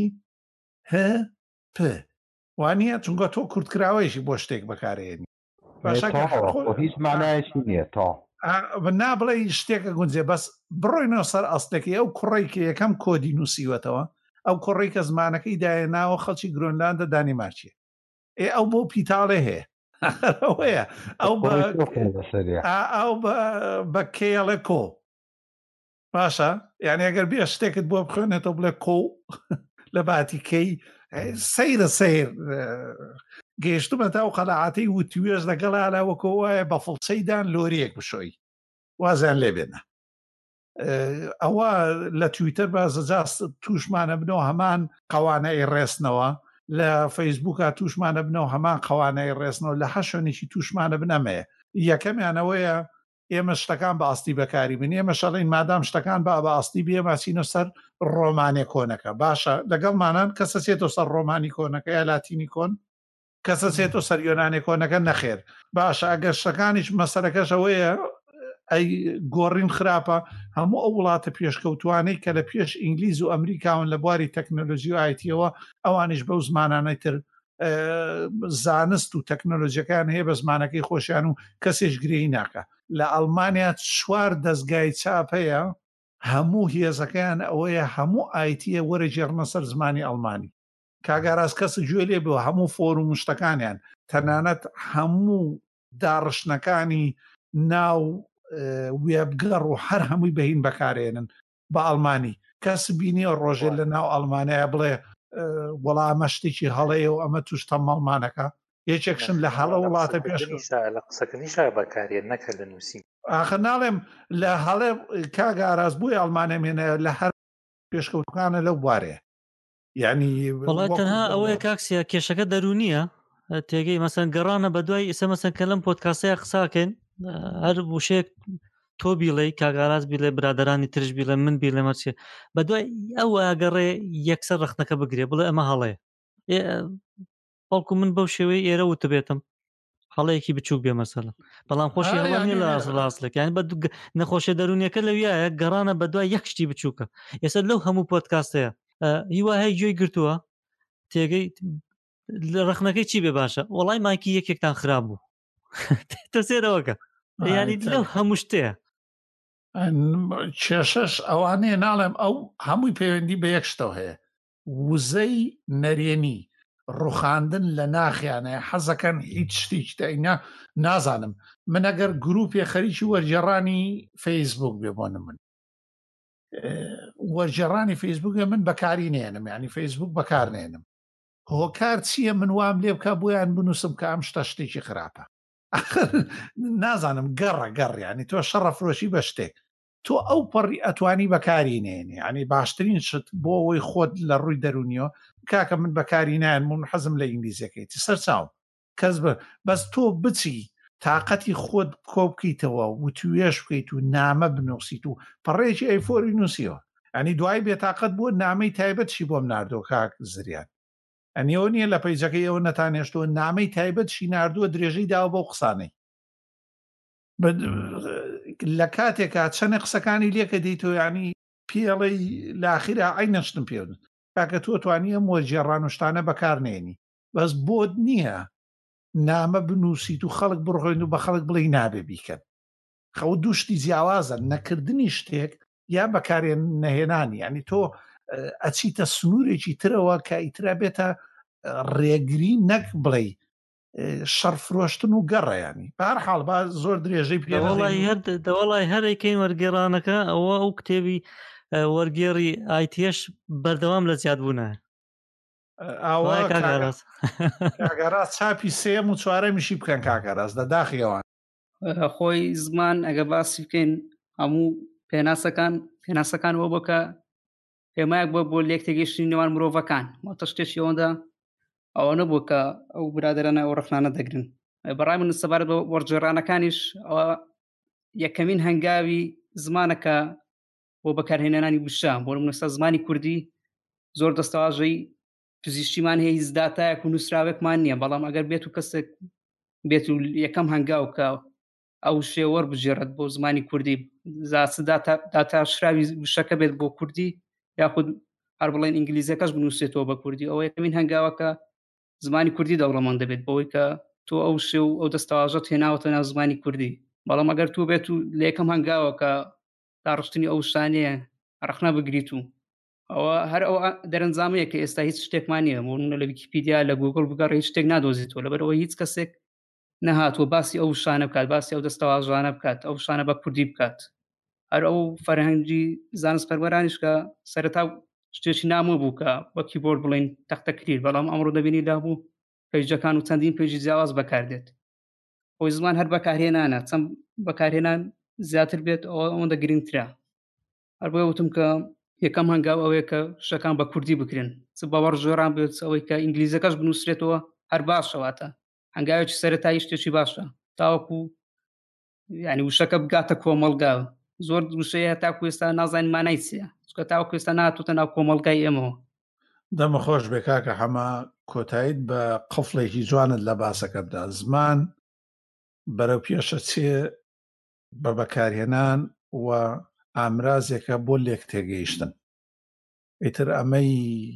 PHP وانە چونکە تۆ کوردکراوەیەشی بۆ شتێک بەکارێنی هیچ مانایشی نییە تا نابڵێ شتێکە گونجێ بەس بڕۆینەوە سەر ئەستێکی ئەو کوڕێکی یەکەم کۆدی نووسیوەتەوە ئەو کوڕی کە زمانەکەی دایەناوە خەڵکی گرۆنلاندە دانیمارچیە ئەو بۆ پیتاڵێ هەیە ئەو بە کێڵێ کۆ باشە یعنی ئەگەر بێ شتێکت بۆ بخوێنێتەوە بڵێ کۆ لە باتیکەی سەیرە سیر گەیشتمە تا و قەناعەتەی وتوێژ لەگەڵ ئالاوەکۆ وایە بە فڵچەیدان لۆریەک بشۆی وازیان لێ بێنە ئەوە لە تویتەر بازەجاست تووشمانە بنەوە هەمان قەوانەی ڕێستنەوە لە فەیسبووکە تووشمانە بنەوە هەمان قەوانەی ڕێستنەوە لە هەشۆنێکی تووشمانە بنەمەیە یەکەمیانەوەیە ئێمە شتەکان بە ئاستی بەکاری بن ئێمە شەڵین مادام شتەکان بە ئاستی بێ ماچینە سەر ڕۆمانێ کۆنەکە باشە لەگەڵمانان کەسە چێتۆ سەر ڕۆمانی کۆنەکە یا لاتینی کۆن کەسە چێتۆ سەر یۆنانێ کۆنەکە نەخێر باشە ئەگەر شتەکانیش مەسەرەکەشەوەیە ئەی گۆڕین خراپە هەموو ئەو وڵاتە پێشکەوتوانەی کە لە پێش ئینگلیز و ئەمریکاون لە بواری تەکنۆلۆژی و ئایتیەوە ئەوانش بەو زمانانەی تر زانست و تەکنۆلۆژیەکان هەیە بە زمانەکەی خۆشیان و کەسێش گرێی ناکە لە ئەڵمانیا 4 دەستگای چاپەیە هەموو هێزەکەیان ئەوەیە هەموو ئایتیە وەرەجێڕنە سەر زمانی ئەڵمانی کاگاراز کەس گوێ لێ بووە هەموو فۆرم و شتەکانیان تەنانەت هەموو داڕشنەکانی ناو وێبگەڕ و هەر هەمووی بەهین بەکارێنن بە ئەڵمانی کەس بینی ڕۆژێ لە ناو ئەڵمانەیە بڵێ وەڵامە شتێکی هەڵەیە و ئەمە توشتە مەڵمانەکە یەکێکشن لە هەڵە وڵاتە پێش لە قسەکەنیش بەکارێن نەکە لە نووسی ئاخر ناڵێم لە هەڵێ کاگاراز بووی ئەڵمانە مێنە لە هەر پێشکەوتەکانە لەو بوارەیە یعنی وڵات تەنها ئەوەیە کاکسیا کێشەکە دەرونیە تێگەی مەسەن گەڕانە بە دوای ئێستا مەسەن کە لەم پۆدکاسەیە قساکەن هەر وشەیەک تۆ بیڵێ کاگاراز بیڵێ برادرانی ترش بیڵێ من بیڵێ مەچێ بە دوای ئەو ئاگەڕێ یەکسەر ڕخنەکە بگرێ بڵێ ئەمە هەڵەیە بەڵکو من بەو شێوەی ئێرە وتە بێتم هەڵەیەکی بچووک بێ مەسەلە بەڵام خۆشی هەڵانی لە ڕاستلێک یان بە نەخۆشیە دەرونیەکە لەویایە گەڕانە بە دوای یەک شتی بچووکە ئێستا لەو هەموو پۆدکاستەیە هیوا هەیە گوێی گرتووە تێگەی ڕخنەکەی چی بێ باشە وەڵای مایکی یەکێکتان خراپ بوو تۆ سێرەوەکە ینی لەو هەموو شتەیە کێشەش ئەوانەیە ناڵێم ئەو هەمووی پەیوەندی بە یەک شتەوە هەیە وزەی نەرێنی ڕوخاندن لە ناخیانەیە حەزەکەن هیچ شتێکی تاینا نازانم من ئەگەر گروپی خەریکی وەرجێڕانی فەیسبوک بێ بۆنە من وەرجێڕانی فەیسبوکە من بەکاری نێنم ینی فەیسبوک بەکار نێنم هۆکار چییە من وام لێ بکە بۆیان بنووسم کە ئەم شتە شتێکی خراپە نازانم گەڕیانی تۆ شەڕە فرۆشی بە شتێک تۆ ئەو پەڕی ئەتوانی بەکاری نێنی ینی باشترین شت بۆ ئەوەی خۆت لە ڕووی دەرونیەوە کاکە من بەکاری نایەن من حەزم لە ئینگلیزیەکەیتی سەر چاوم کەس بەس تۆ بچی تااقەتی خۆت کۆ بکەیتەوە و توێش بکەیت و نامە بنووسیت و پەڕێکی ئەیفۆری نووسیەوە ئەنی دوای بێتاقەت بووە نامەی تایبەتشی بۆم ناردۆ کاک زریان ئەنیەوە نییە لە پەیجەکەی ئەوە نەتانێشتەوە نامەی تایبەتشی ناردووە درێژەی داوە بەو قسانەی لە کاتێکا چەنە قسەکانی لێکە دەیتەوە ینی پێڵەی لاخیرا ئای نەشتم پێدن کاکە تۆ توانیە مۆرجێڕان وشتانە بەکارنێنی بەس بۆت نییە نامە بنووسیت و خەڵک بڕۆین و بە خەڵک بڵێ نابێ بیکەن خەوت دووشتی جیاوازە نەکردنی شتێک یا بەکارێن نەهێنانی ینی تۆ ئەچیتە سنوورێکی ترەوە کە ئیترا بێتە ڕێگری نەک بڵێ شەرفرۆشتن و گەڕەیانی بەهەرحاڵ با زۆر درێژەی پێوەڵی هەرێکەین وەرگێڕانەکە ئەوە ئەو کتێبی وەرگێڕی ئایتیش بەردەوام لە زیادبوونە کاگەڕاز چاپی سێم و چوارەمیشی بکەن کاگەڕاز لە داخیەوان خۆی زمان ئەگە باسی بکەین هەموو پێناسەکان وە بۆکە پێمایەک بۆ لێک تێگەیشتنی نێوان مرۆڤەکان ماتە شتێکی ئەوەندا ئەوە نەبوو کە ئەو برادرانە ئەو ڕخنانە دەگرن بەڕای من سەبارەت بە وەرجێڕانەکانیش ئەوە یەکەمین هەنگاوی زمانەکە بۆ بەکارهێنانی وشە بۆ منستا زمانی کوردی زۆر دەستەواژەی پزیشتیمان هەیە هیچ داتایەک و نووسراوێکمان نییە بەڵام ئەگەر بێت و کەسێک بێت و یەکەم هەنگاو کە ئەو شێوەر بژێڕێت بۆ زمانی کوردی داتا شراوی وشەکە بێت بۆ کوردی یاخود هەر بڵێن ئینگلیزیەکەش بنووسێتەوە بە کوردی ئەوە یەکەمین هەنگاوەکە زمانی کوردی دەوڵەمەند دەبێت بەوەی کە تۆ ئەو شێ و ئەو دەستەواژەت هێناوەتە ناو زمانی کوردی بەڵام ئەگەر تۆ بێت و لە یەکەم هەنگاوە کە داڕشتنی ئەو شانەیە ڕخنە بگریت و ئەوە هەر ئەو دەرەنجامەیە کە ئێستا هیچ شتێکمان نییە بۆ لە ویکیپیدیا لە گوگل بگەڕێ هیچ شتێک نادۆزیتەوە لەبەرەوە هیچ کەسێک نەهاتوە باسی ئەو شانە بکات باسی ئەو دەستەواژانە بکات ئەو شانە بە کوردی بکات هەر ئەو فەرهەنگی زانست پەروەرانیش کە سەرەتا شتێکی نامۆ بوو کە بە کیبۆرد بڵێن تەختەکریر بەڵام ئەمڕۆ دەبینی دابوو پێیجەکان و چەندین پێیجی جیاواز بەکاردێت خۆی زمان هەر بەکارهێنانە چەند بەکارهێنان زیاتر بێت ئەوەندە گرنگترە هەر بۆیە وتم کە یەکەم هەنگاو ئەوەیە کە شتەکان بە کوردی بکرێن چ باوەڕ ژۆران بێت ئەوەی کە ئینگلیزەکەش بنووسرێتەوە هەر باشەواتە هەنگاوێکی سەرەتایی شتێکی باشە تاوەکو یعنی وشەکە بگاتە کۆمەڵگا زۆر وشەیە تاکو ئێستا نازانین مانای چییە چکە تاوەکو ئێستا ناتوتە ناو کۆمەڵگای ئێمەوە. دەمە خۆش بێ کاکە هەما کۆتاییت بە قفڵێکی جوانت لە باسەکە بدا. زمان بەرەو پێشە چێ بە بەکارهێنان و ئامرازێکە بۆ لێک تێگەیشتن. ئیتر ئەمەی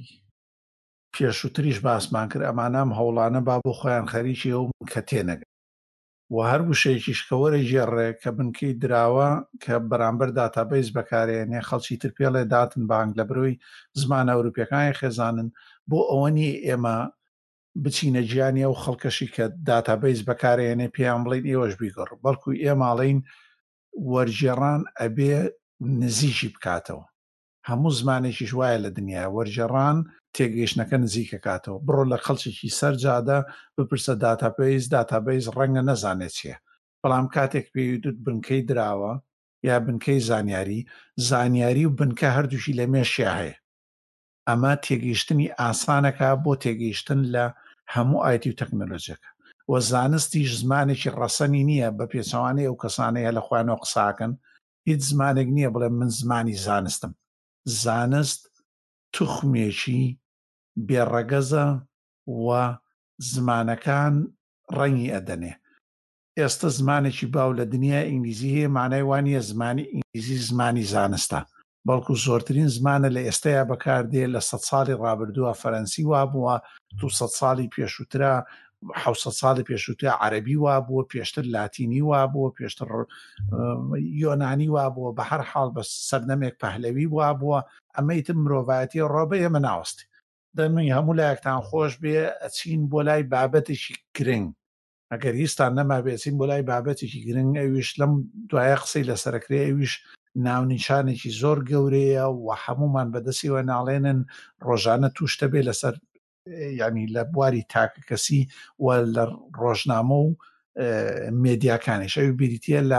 پێشووتریش باسمان کرد ئەمانام هەوڵانە با بۆ خۆیان خەریکی ئەو کە تێنەگەن و هەر وشەیەکیش کە وەرە ژێڕێ کە بنکەی دراوە کە بەرامبەر داتابیس بەکارێنێ خەڵکی تر پێڵێ داتن بانگ لە بروی زمانە ئەوروپیەکانی خێزانن بۆ ئەوەنی ئێمە بچینە گیانی ئەو خەڵکەشی کە داتابیس بەکارێنێ پێیان بڵین ئێوەش بیگەڕ بەڵکو ئێماڵین وەرجێڕان ئەبێ نزیکی بکاتەوە. هەموو زمانێکیش وایە لە دنیا وەرجێڕان تێگەیشتنەکە نزیکە کاتەوە. بڕۆ لە خەڵکێکی سەرجادا بپرسە داتابیس ڕەنگە نەزانێت چیە، بەڵام کاتێک پێویست بنکەی دراوە یا بنکەی زانیاری و بنکە هەردووشی لە مێشیا هەیە. ئەمە تێگەیشتنی ئاسانەکە بۆ تێگەیشتن لە هەموو ئایتی و تەکنۆلۆژیەکە و زانستیش زمانێکی ڕەسەنی نییە بە پێچەوانەی ئەو کەسانەیە لە خوانەوە قساکەن. هیچ زمانێک نییە بڵێ من زمانی زانستم. زانست توخمێکی بێڕەگەزە و زمانەکان ڕەنگی ئەدەنێ. ئێستا زمانێکی باو لە دنیا ئینگلیزی هەیە مانای وانە زمانی ئینگلیزی زمانی زانستە، بەڵکو زۆرترین زمانە لە ئێستایا بەکاردێ لە 100 ساڵی ڕابردووە فەرەنسی وابووە، 200 ساڵی پێشووترە 700 ساڵی پێشووترە عەرەبی وابووە، پێشتر لاتینی وابووە، پێشتر یۆنانی وابووە، بە هەر حاڵ بە سەردەمێک پەهلەوی وابووە. ئەمەیتر مرۆڤایەتی ڕۆبە ئێمە ناوەستی. دەمەی هەموو لایەکتان خۆش بێ ئەچین بۆ لای بابەتێکی گرنگ. ئەگەر هیچتان نەما بێچین بۆ لای بابەتێکی گرنگ ئەویش لەم دوایە قسەی لەسەرکرێ ئەویش ناونیشانێکی زۆر گەورەیە و هەمومان بەدەستیەوە ناڵێنن ڕۆژانە توشتە بێ لەسەر ینی لە بواری تاکە کەسی و لە ڕۆژنامە و مێدیاکانیش. ئەوی بریتە لە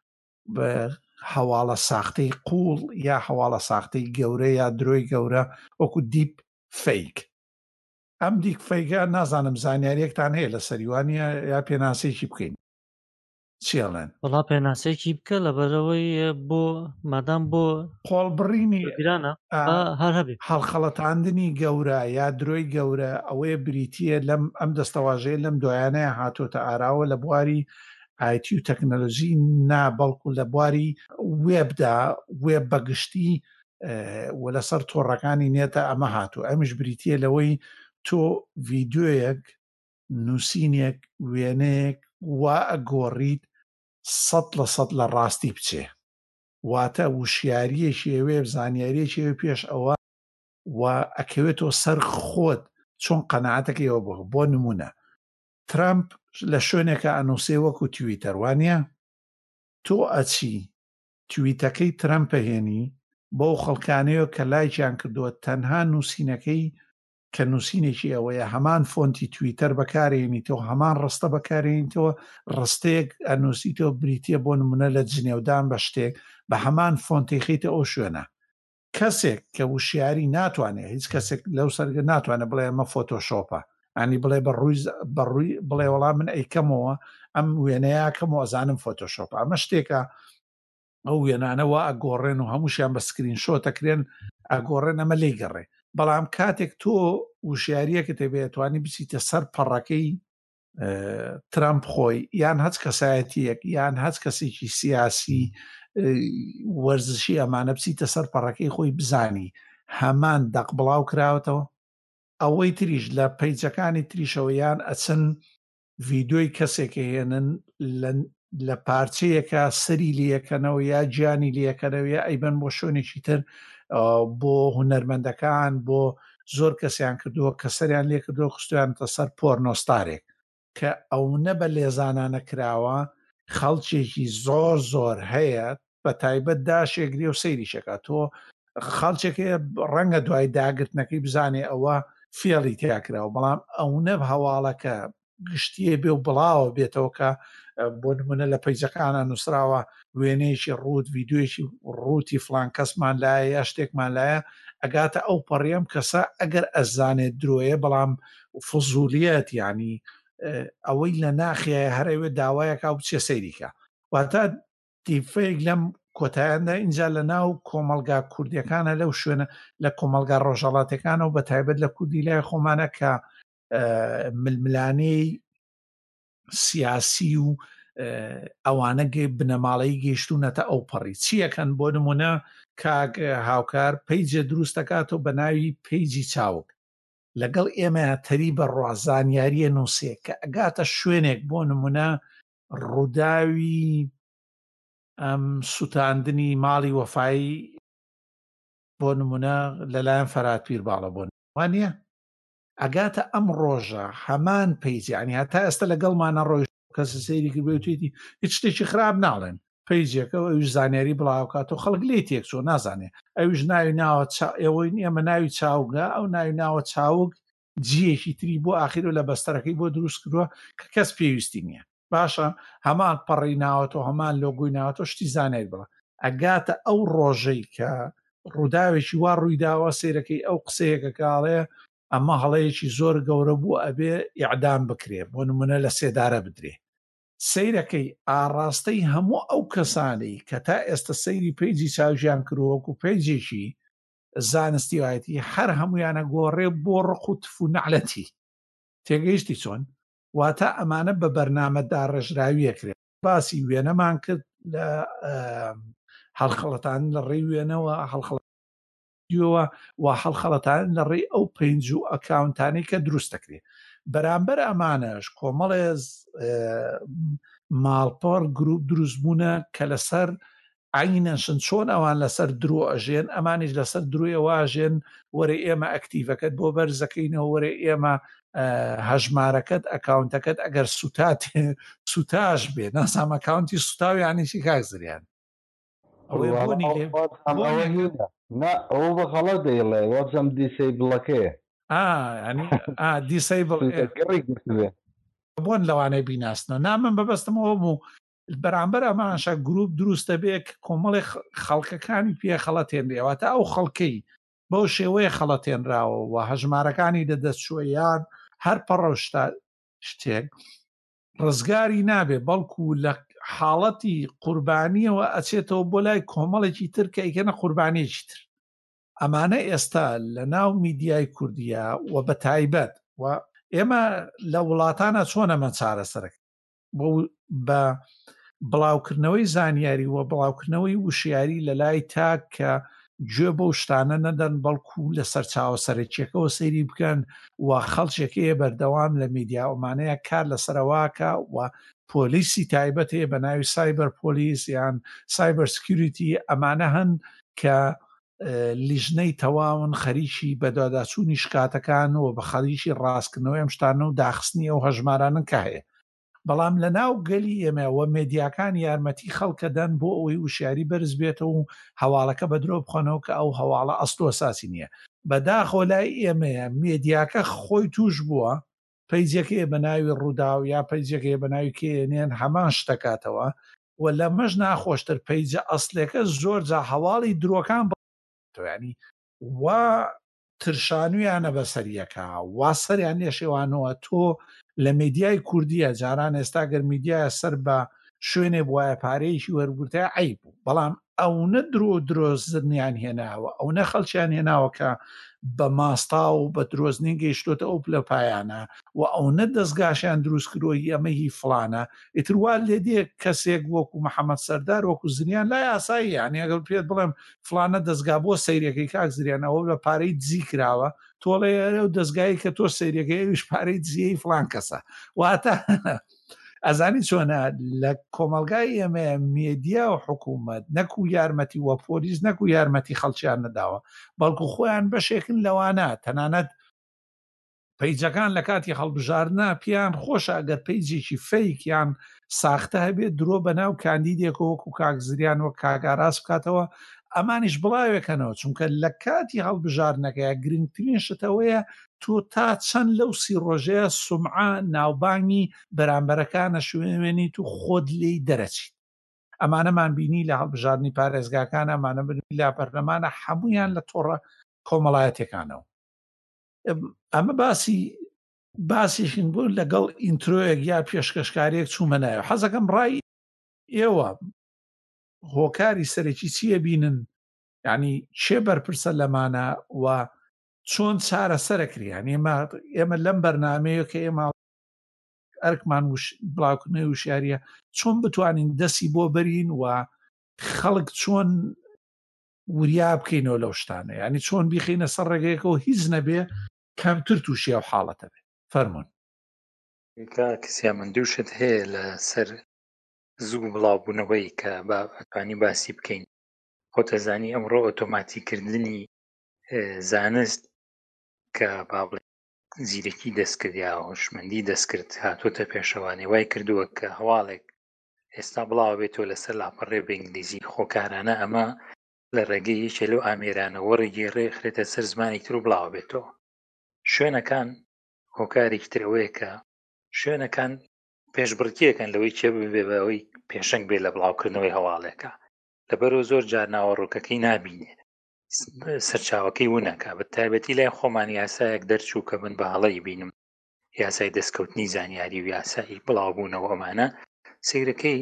هەواڵە ساختەی قوڵ یا هەواڵە ساختەی گەورە یا درۆی گەورە وەکو دیپ فەیک. ئەم دیک فەیکە نازانم زانیاریەکتان هەیە لە سەریوانە یا پێناسێکی بکەین چێڵێن وڵا پێناسێکی بکە لەبەرەوەی بۆ مادام بۆ قۆڵبڕینی گرانە هەر هەبێ هەڵخەڵەتاندنی گەورە یا درۆی گەورە ئەوەیە بریتە لەم ئەم دەستەواژەیە لەم دۆیانەیە هاتۆتە ئاراوە لە بواری ئایتی و تەکنەلۆژی نا بەڵکو لە بواری وێبدا وێب بەگشتی و لەسەر تۆڕەکانی نێتە ئەمە هاتوو. ئەمیش بریتە لەوەی تۆ ڤیددیۆیەک نووسینێک وێنەیەک وا ئەگۆڕیت 100% لە ڕاستی بچێ واتە وشیاریەکی ئەوێ زانیاریەکی ئەوێ پێش ئەوە و ئەکەوێتەوە سەر خۆت چۆن قەناعەتەکەیەوە بۆ نمونە ترامپ لە شوێنێکە ئەنووسێ وەکو تویتەر وانە تۆ ئەچی تویتەکەی ترامپە هێنی بۆ خەڵکانەیە کە لایکیان کردووە تەنها نووسینەکەی کە نووسینێکی ئەوەیە هەمان فۆنتی تویتەر بەکارێنیتەوە هەمان ڕستە بەکارێنیتەوە ڕستەیەک ئەنووسیتەوە بریتە بۆ نمونە لە جنێودان بە شتێک بە هەمان فۆنتی خیتە ئەو شوێنە. کەسێک کە وشیاری ناتوانێت هیچ کەسێک لەو سەرگە ناتوانێت بڵێ ئەمە فۆتۆشۆپە ئەنی بڵێ بەڕووی بڵێ وەڵام من ئەیکەمەوە ئەم وێنەیەکەمەوە ئەزانم فۆتۆشۆپە. ئەمە شتێکە ئەو وێنانەوە ئەگۆڕێن و هەمووشیان بە سکرین شۆتەکرێن ئەگۆڕێن ئەمە لی گەڕێ. بەڵام کاتێک تۆ وشیاریەکە تێبێتوانی بچیتە سەر پەڕەکەی ترامپ خۆی یان هەچ کەسایەتیەک یان هەچ کەسێکی سیاسی وەرزشی ئەمانە بچیتە سەر پەڕەکەی خۆی بزانی هەمان دەق بڵاو کراوەتەوە. ئەوەی تریش لە پەیجەکانی تریشەوەیان ئەچن ڤیددیۆی کەسێکە هێنن لە پارچەیەکە سەری لەکەنەوە یا گیانی لەکەنەوە یا ئەیبەن بۆ شوێنێکی تر بۆ هونەرمەندەکان بۆ زۆر کەسیان کردووە کە سەریان لێ کردووە خستویانتە سەر پۆرنۆستارێک کە ئەو نە بە لێزانانە کراوە خەڵکێکی زۆر زۆر هەیە بە تایبەت داشێگری و سەیریشەکە تۆ خەڵکێکە ڕەنگە دوای داگرتنەکەی بزانێ ئەوە فێڵی تیاکراوە بەڵام ئەو نەب هەواڵەکە گشتیە بێ و بڵاوە بێتەوە کە بۆ نمونە لە پەیجەکانە نووسراوە وێنەیەکی ڕوت ڤیددیۆیەکی ڕوتی فلان کەسمان لایە یا شتێکمان لایە ئەگاتە ئەو پەڕێم کەسە ئەگەر ئەزانێت درۆیە بەڵام فزولیەت ینی ئەوەی لە ناخیە هەرەوێ داوایەکە و بچێ سەیریکە واتە دیفەیەک لەم کۆتاییاندا اینجا لە ناو کۆمەلگا کوردیەکانە لەو شوێنە لە کۆمەلگا ڕۆژهەڵاتەکانە و بەتایبەت لە کوردی لای خۆمانە کە ململانەی سیاسی و ئەوانە بنەماڵەی گەیشتونەتە ئەو پەڕی چیەکەن بۆ نمونە کاک هاوکار پیجە دروست دەکاتەوە بە ناوی پیجی چاوک لەگەڵ ئێمە تەری بە ڕازانیاریە نووسێ کە ئەگاتە شوێنێک بۆ نمونە ڕووداوی ئەم سوتاندنی ماڵی وەفایی بۆ نمونە لەلایەن فەراتپیر باڵە بۆن وانە ئەگاتە ئەم ڕۆژە هەمان پیجانی هەتا ئێستا لەگەڵمانە ڕۆژ کەس سەیری کردێتی هیچ شتێکی خراپ ناڵێن پیجێکە ئەوش زانیاری بڵاوکاتەوە خەڵک لێ تێک چۆ نازانێ ئەوش ناوی ناوە ئێوەی ئێمە ناوی چاوگە ئەو ناوی ناوە چاوک جیەکی تری بۆ ئاخیر و لە بەستەرەکەی بۆ دروست کردووە کە کەس پێویستی نییە باشە هەمان پەڕی ناوەتەوە هەمان لۆگوی ناوەتەوە شتی زانێت بڵە ئەگاتە ئەو ڕۆژەی کە ڕووداوێکی وا ڕوویداوە سیرەکەی ئەو قسەیەکە کاڵێ ئەمە هەڵەیەکی زۆر گەورە بوو ئەبێ ئیعدام بکرێ بۆ نمونە لە سێدارە بدرێ سیرەکەی ئاڕاستەی هەموو ئەو کەسانەی کە تا ئێستا سەیری پیجی چاوژیان کردووەکو پیجێکی زانستی وایەتی هەر هەمویانە گۆڕێ بۆ ڕق و تف و نەعلەتی تێگەیشتی چۆن واتە ئەمانە بە بەرنامەدا ڕێژراویەکرێت باسی وێنەمان کرد لە هەڵخەڵەتان لە ڕێی وێنەوە هەڵخەڵەتیەوە و هەڵخەڵەتان لە ڕێی ئەو پێنج و ئەکاونتانەی کە دروست دەکرێت بەرامبەر ئەمانەش کۆمەڵێ ماڵپەڕ گروپ دروستبوونە کە لەسەر عینەشن چۆن ئەوان لەسەر درۆ ئەژێن ئەمانیش لەسەر دروێەوە ئاژێن وەرە ئێمە ئەکتیڤەکەت بۆ بەرزەکەینەوە وەرە ئێمە هەژمارەکەت ئەکاونتەکەت ئەگەر سوتاش بێ ناسام ئەکاونتی سوتاویانیشی کاکزریان ئەو بەخەڵە دەیڵێ وەزم دیسەی بڵەکەیە دیسەیبڵ بۆن لەوانەیە بیناسنەوە نامن بەبەستمەوە بوو بەرامبەر ئەمانشە گروپ دروستە بێ کۆمەڵی خەڵکەکانی پێ خەڵەتێنرێەوەتە ئەو خەڵکەی بەو شێوەیە خەڵەتێنراوە و هەژمارەکانی دەدەستشویان هەر پەڕەشتا شتێک ڕزگاری نابێ بەڵکو لە حاڵەتی قوربانیەوە ئەچێتەوە بۆ لای کۆمەڵێکی تر کە ئیکەنە قوربانیەکی تر ئەمانە ئێستا لە ناو میدیای کوردیە و بە تایبەت و ئێمە لە وڵاتانە چۆنەمە چارەسەرەکە بە بڵاوکردنەوەی زانیاری و بڵاوکردنەوەی وشیاری لە لای تاک کە گوێ بەو شتانە نەدەن بەڵکو لە سەرچاوە سەرچیەکەەوە سەیری بکەن و خەڵکێکەیە بەردەوام لە میدیاومانەیە کار لەسەرواکە و پۆلیسی تایبەت هەیە بە ناوی سایبەر پۆلیس یان سایبەر سکیوریتی ئەمانە هەن کە لیژنەی تەواون خەریکی بەدواداچوونی شکاتەکان و بە خەریکی ڕاستکردنەوەی ئەم شتانە و داخستنی ئەو هەژمارانن کە هەیە بەڵام لە ناو گەلی ئێمەوە مێدیاکان یارمەتی خەڵکەدەن بۆ ئەوەی وشیاری بەرز بێتەوە و هەواڵەکە بە درۆ بخۆنەوە کە ئەو هەواڵە ئەستۆ ساسی نییە بەداخۆ لای ئێمەیە مێدیاکە خۆی توش بووە پیجەکەی بە ناوی ڕووداو یا پیجەکەی بە ناوی کێنێن هەمان شتەکاتەوە و لە مەژ ناخۆشتر پیجە ئەسلەکە زۆر جا هەواڵی درۆکان ینی وا ترشانویانە بەسەریەکە وا سەریان لێشێوانەوە تۆ لە میدیای کوردیە جاران ئێستا گەر میدیایە سەر بە شوێنێ بواە پارەیەکی وەرگرتە عیب بوو بەڵام ئەوە درۆزنیان هێناوە ئەو نە خەڵکیان هێناوە کە بە ماستا و بە درۆزنی گەیشتۆتە ئەو پلە پایانە و ئەو نە دەستگاشیان دروست کردۆی ئەمەهی فلانە ئیتروال لێ دێ کەسێک وەکو محەممەد سەردار وەکو زریان لای ئاسایی یانی ئەگەر پێت بڵێم فلانە دەستگا بۆ سەیرەکەی کاک زریانەوە بە پارەی دزی کراوە تۆڵێ و دەستگایی کە تۆ سەیرەکەیش پارەی دزیەی فلان کەسە واتە ئەزانی چۆنە لە کۆمەلگای ئێمە مێدیا و حکوومەت نەکو یارمەتی وە پۆلیس نەکو یارمەتی خەڵکیان نەداوە بەڵکو خۆیان بەشێکن لەوانە تەنانەت پیجەکان لە کاتی هەڵبژاردنە پیان خۆشە ئەگەر پیجێکی فەیکیان ساختە هەبێت درۆ بەناو کاندیدێکەوە وەکو کاکزریان وە کاگاراس بکاتەوە ئەمانیش بڵاوێکەنەوە چونکە لە کاتی هەڵبژاردنەکەیە گرنگترین شتەوەیە تۆ تا چەند لەو سی ڕۆژەیە سومعە ناوبانگی بەرامبەرەکانە شوێنێنیت و خۆت لێی دەرەچیت ئەمانەمان بینی لە هەڵبژاردننی پارێزگاکان ئەمانە بنی لا بەرلەمانە هەمویان لە تۆڕە کۆمەڵایەتەکانەوە ئەمە باسیشین بوو لەگەڵ ئینترۆیەک یا پێشکەشکارێک چوومە نایە حەزەکەم ڕای ئێوە هۆکاری سەرەکی چیە بینن، یعنی چێ بەرپرسە لەمانە و چۆن چارەسەرەکریان. ئێمە لەم بەرنامەیە کە ئێمە ئەرکمان بڵاوکردنەوەی وشیاریە چۆن بتوانین دەستی بۆ بەرین و خەڵک چۆن وریا بکەینەوە لەو شتانە، ینی چۆن بیخینە سەر ڕێگەیەکەوە هیچ نەبێ کەمتر تووشی ئەو حاڵەتە بێ. فەرمونون. کەسیا من دووشت هەیە لە سەر زوو بڵاوبوونەوەی کە ئەتوانی باسی بکەین. خۆتەزانی ئەمڕۆ ئۆتۆماتیکردنی زانست کە با بڵێ زیرەکی دەستکرد یا هۆشمەندی دەستکرد هاتوۆتە پێشەوانێ وای کردووە کە هەواڵێک ئێستا بڵاو بێتەوە لەسەر لاپەڕێ بە ئینگلیزی خۆکارانە ئەمە لە ڕێگەی یەکێ لەو ئامێرانەوە ڕێگەیڕێ خرێتە سەر زمانی تر و بڵاو بێتەوە. شوێنەکان هۆکارێکی ترەوەیە کە شوێنەکان پێشبڕکیەکەن لەوەی چێ ببێ بەوەی پێشنگ بێت لە بڵاوکردنەوەی هەواڵێکە، لەبەرەوە زۆر جار ناوەڕۆکەکەی نابینێ سەرچاوەکەی ونەکە. بە تایبەتی لای خۆمان یاسایەک دەرچوو کە من بە هەڵەی بینم، یاسای دەستکەوتنی زانیاری و یاسایی بڵاوبوونەوە ئەمانە سیرەکەی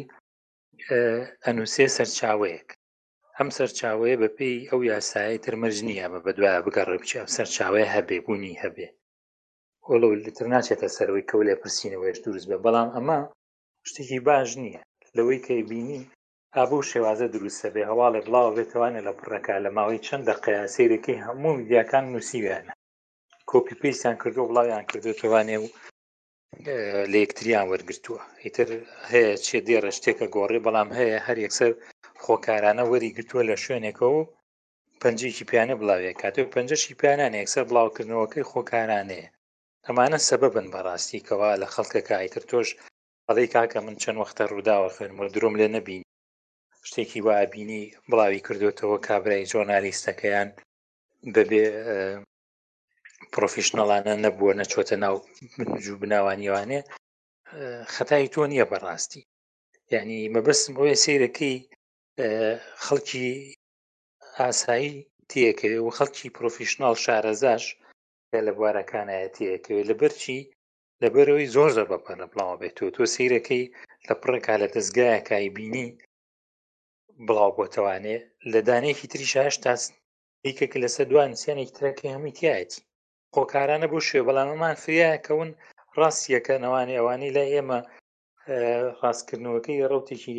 ئەنووسێ سەرچاوەیەک. ئەم سەرچاوەیە بەپێی ئەو یاسایی ترمەرج نییە بە بەدوایە بگەڕێ بچێ سەرچاوەیە هەبێ بوونی هەبێ وەڵە لتر ناچێتە سەرەوەی کەو لێ پرسیینەوەیش دروست بێ. بەڵام ئەمە شتێکی باش نییە لەوەی کە بینی ئابوو شێوازە دروستە بێ هەواڵێ بڵاو بێتوانێ لە پڕەکە لە ماوەی چەند دەقەیە سیرەکەی هەموو میدیاکان نووسیویانە کۆپی پێستیان کردو بڵاویان کردوێتوانێ و لە یەکتریان وەرگرتووە. ئیتر هەیە چێ دێڕە شتێکە گۆڕێ، بەڵام هەیە هەر یەکسەر خۆکارانە وەری گرتووە لە شوێنێکەوە و پەنجێکی پیانە بڵاوێ کاتێک پەنجەشی پیانانە یەکسەر بڵاوکردنەوەکەی خۆکارانەیە. ئەمانە سەبەبن بەڕاستی کەوا لە خەڵکەکە ئیتر تۆش ئەڵەی کاکە من چەند وەختە ڕووداوە خوێنمە درۆم لێ نەبین شتێکی وابینی بڵاوی کردوێتەوە کابرای جۆرنالیستەکەیان بەبێ پرۆفیشنەڵانە نەبووە نەچۆتە ناو بنجوو بناوانیوانێ خەتای تۆ نییە بەڕاستی. یعنی مەبەستم ئەوەیە سیرەکەی خەڵکی ئاسایی تێکەوێ و خەڵکی پرۆفیشناڵ شارەزاش لە بوارەکانایە تێکەوێ لەبەرچی لەبەرەوەی زۆر زۆر بەپەرە بڵاو بێتەوە. تۆ سیرەکەی لە پڕێکا لە دەستگایەکای بینی بڵاو بۆتەوانێ لە دانەیەکی تریش هەشتا دیکەکە لەسەر دوان سیانێکی ترەکەی هەمووی تایەتی خۆکارانە بۆ شوێ. بەڵام ئەمان فریایەکەون ڕاستیەکەنەوانی ئەوانەی لای ئێمە ڕاستکردنەوەکەی ڕەوتێکی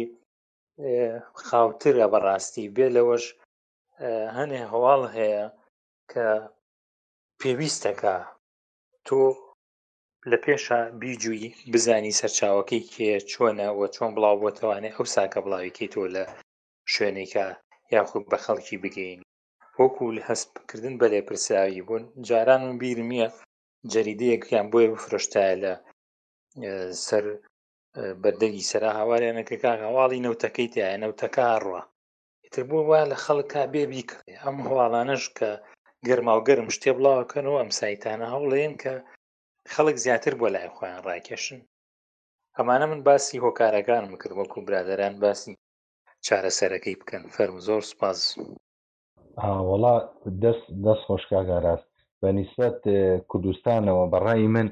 خاوترە بەڕاستی بێ لەوەش هەنێ هەواڵ هەیە کە پێویستەکە تۆ لە پێشە بیجووی بزانی سەرچاوەکەی کێ چۆنە و چۆن بڵاو بۆتەوانێ ئەو ساکە بڵاویکەی تۆ لە شوێنێکە یاخود بە خەڵکی بگەین وەکو لە هەستکردن بە لێپرسراوی بوون. جاران من بیرمیە جەریدەیەکیان بۆیە بفرۆشتایە لە سەر بەردەگی سەرا هاواریانەکە کاک هەواڵی نەوتەکەی تایە نەوتەکە ڕوە ئیتر بوو وایە لە خەڵکا بێ بیکڕێ. ئەم هەواڵانەش کە گەرما و گەرم شتێ بڵاوکەنەوە ئەم سایتانە هەوڵێن کە خەڵک زیاتر بۆ لای خۆیان ڕاکێشن. ئەمانە من باسی هۆکارەکانم کرد وەکو برادەران باسی چارەسەرەکەی بکەن. فەرمو زۆر سوپاس. وڵا دەست خۆشکاگا ڕاست بە نیسبەت کوردستانەوە بەڕای من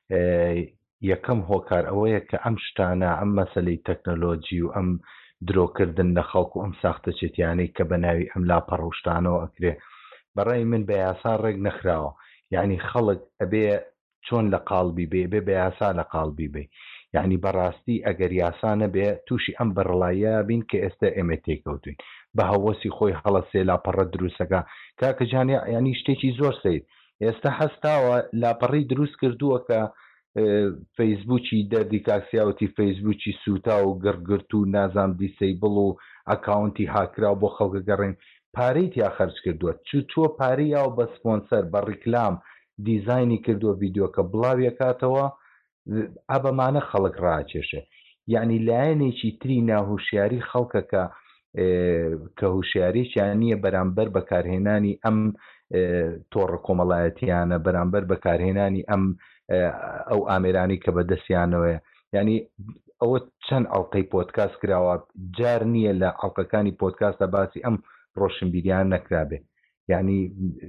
یەکەم هۆکار ئەوەیە کە ئەم شتانە ئەم مەسەلەی تەکنۆلۆجی و ئەم درۆکردن لە خەڵک و ئەم ساختە چێتیانەی کە بە ناوی ئەم لاپەڕوشتانەوە ئەکرێ بەڕای من بە یاسا ڕێک نەخراوە. یعنی خەڵک ئەبێ چۆن لە قاڵبی بێ بە یاسا لە قاڵبی بێ. یعنی بەڕاستی ئەگەر یاسا نەبێ تووشی ئەم بەڕڵایە بین کە ئێستا ئێمە تێکەوتوین بە هەوەسی خۆی هەڵەسێ لاپەڕە دروستەکە کاکەجان ینی شتێکی زۆر سیر ئێستا هەستاوە لاپەڕی دروست کردووە کە فەیسبوکی دەردی کاکسیاوتی فەیسبوکی سوتا و گڕگرت و نازام دیسەیبڵ و ئەکاونتی هاکرا بۆ خەڵکە گەڕین پارەی تیا خەرج کردووە چوە پارەی یاو بە سپۆنسەر بە ڕیکلام دیزایانی کردووە ڤیددیۆکە بڵاویەکاتەوە ئەبەمانە خەڵک ڕاکێشێ. یعنی لایەنێکی تری ناهوشیاری خەڵکەکە کە هوشیارییان نییە بەرامبەر بەکارهێنانی ئەم تۆڕە کۆمەڵایەتیانە بەرامبەر بەکارهێنانی ئەو ئامێرانی کە بەدەستیانەوەە. ینی ئەوە چەند ئەڵلقەی پۆدکاست کراوە جار نییە لە ئەڵلقەکانی پۆدکاستە باسی ئەم ڕۆشنبیریان نەکرابێ. یعنی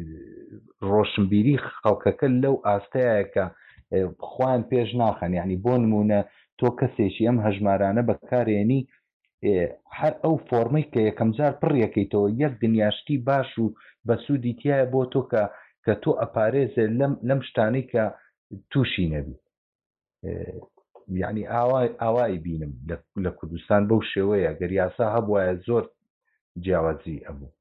ڕۆشنبیری خەڵکەکە لەو ئاستەیە کە خوان پێش ناخەن. یعنی بۆ نمونە تۆ کەسێکی ئەم هەژمارانە بەکارێنی هەر ئەو فۆرمەی کە یەکەم جار پڕیەکەیتەوە یەک دنیاشتی باش و بە سوودی تایە بۆ تۆ کە تۆ ئەپارێزێ لەم شتانەی کە تووشی نەبی. یعنی ئاوای بینم لە کوردستان بەو شێوەیە گەر یاسا هەبوایە زۆر جیاوازی ئەبوو.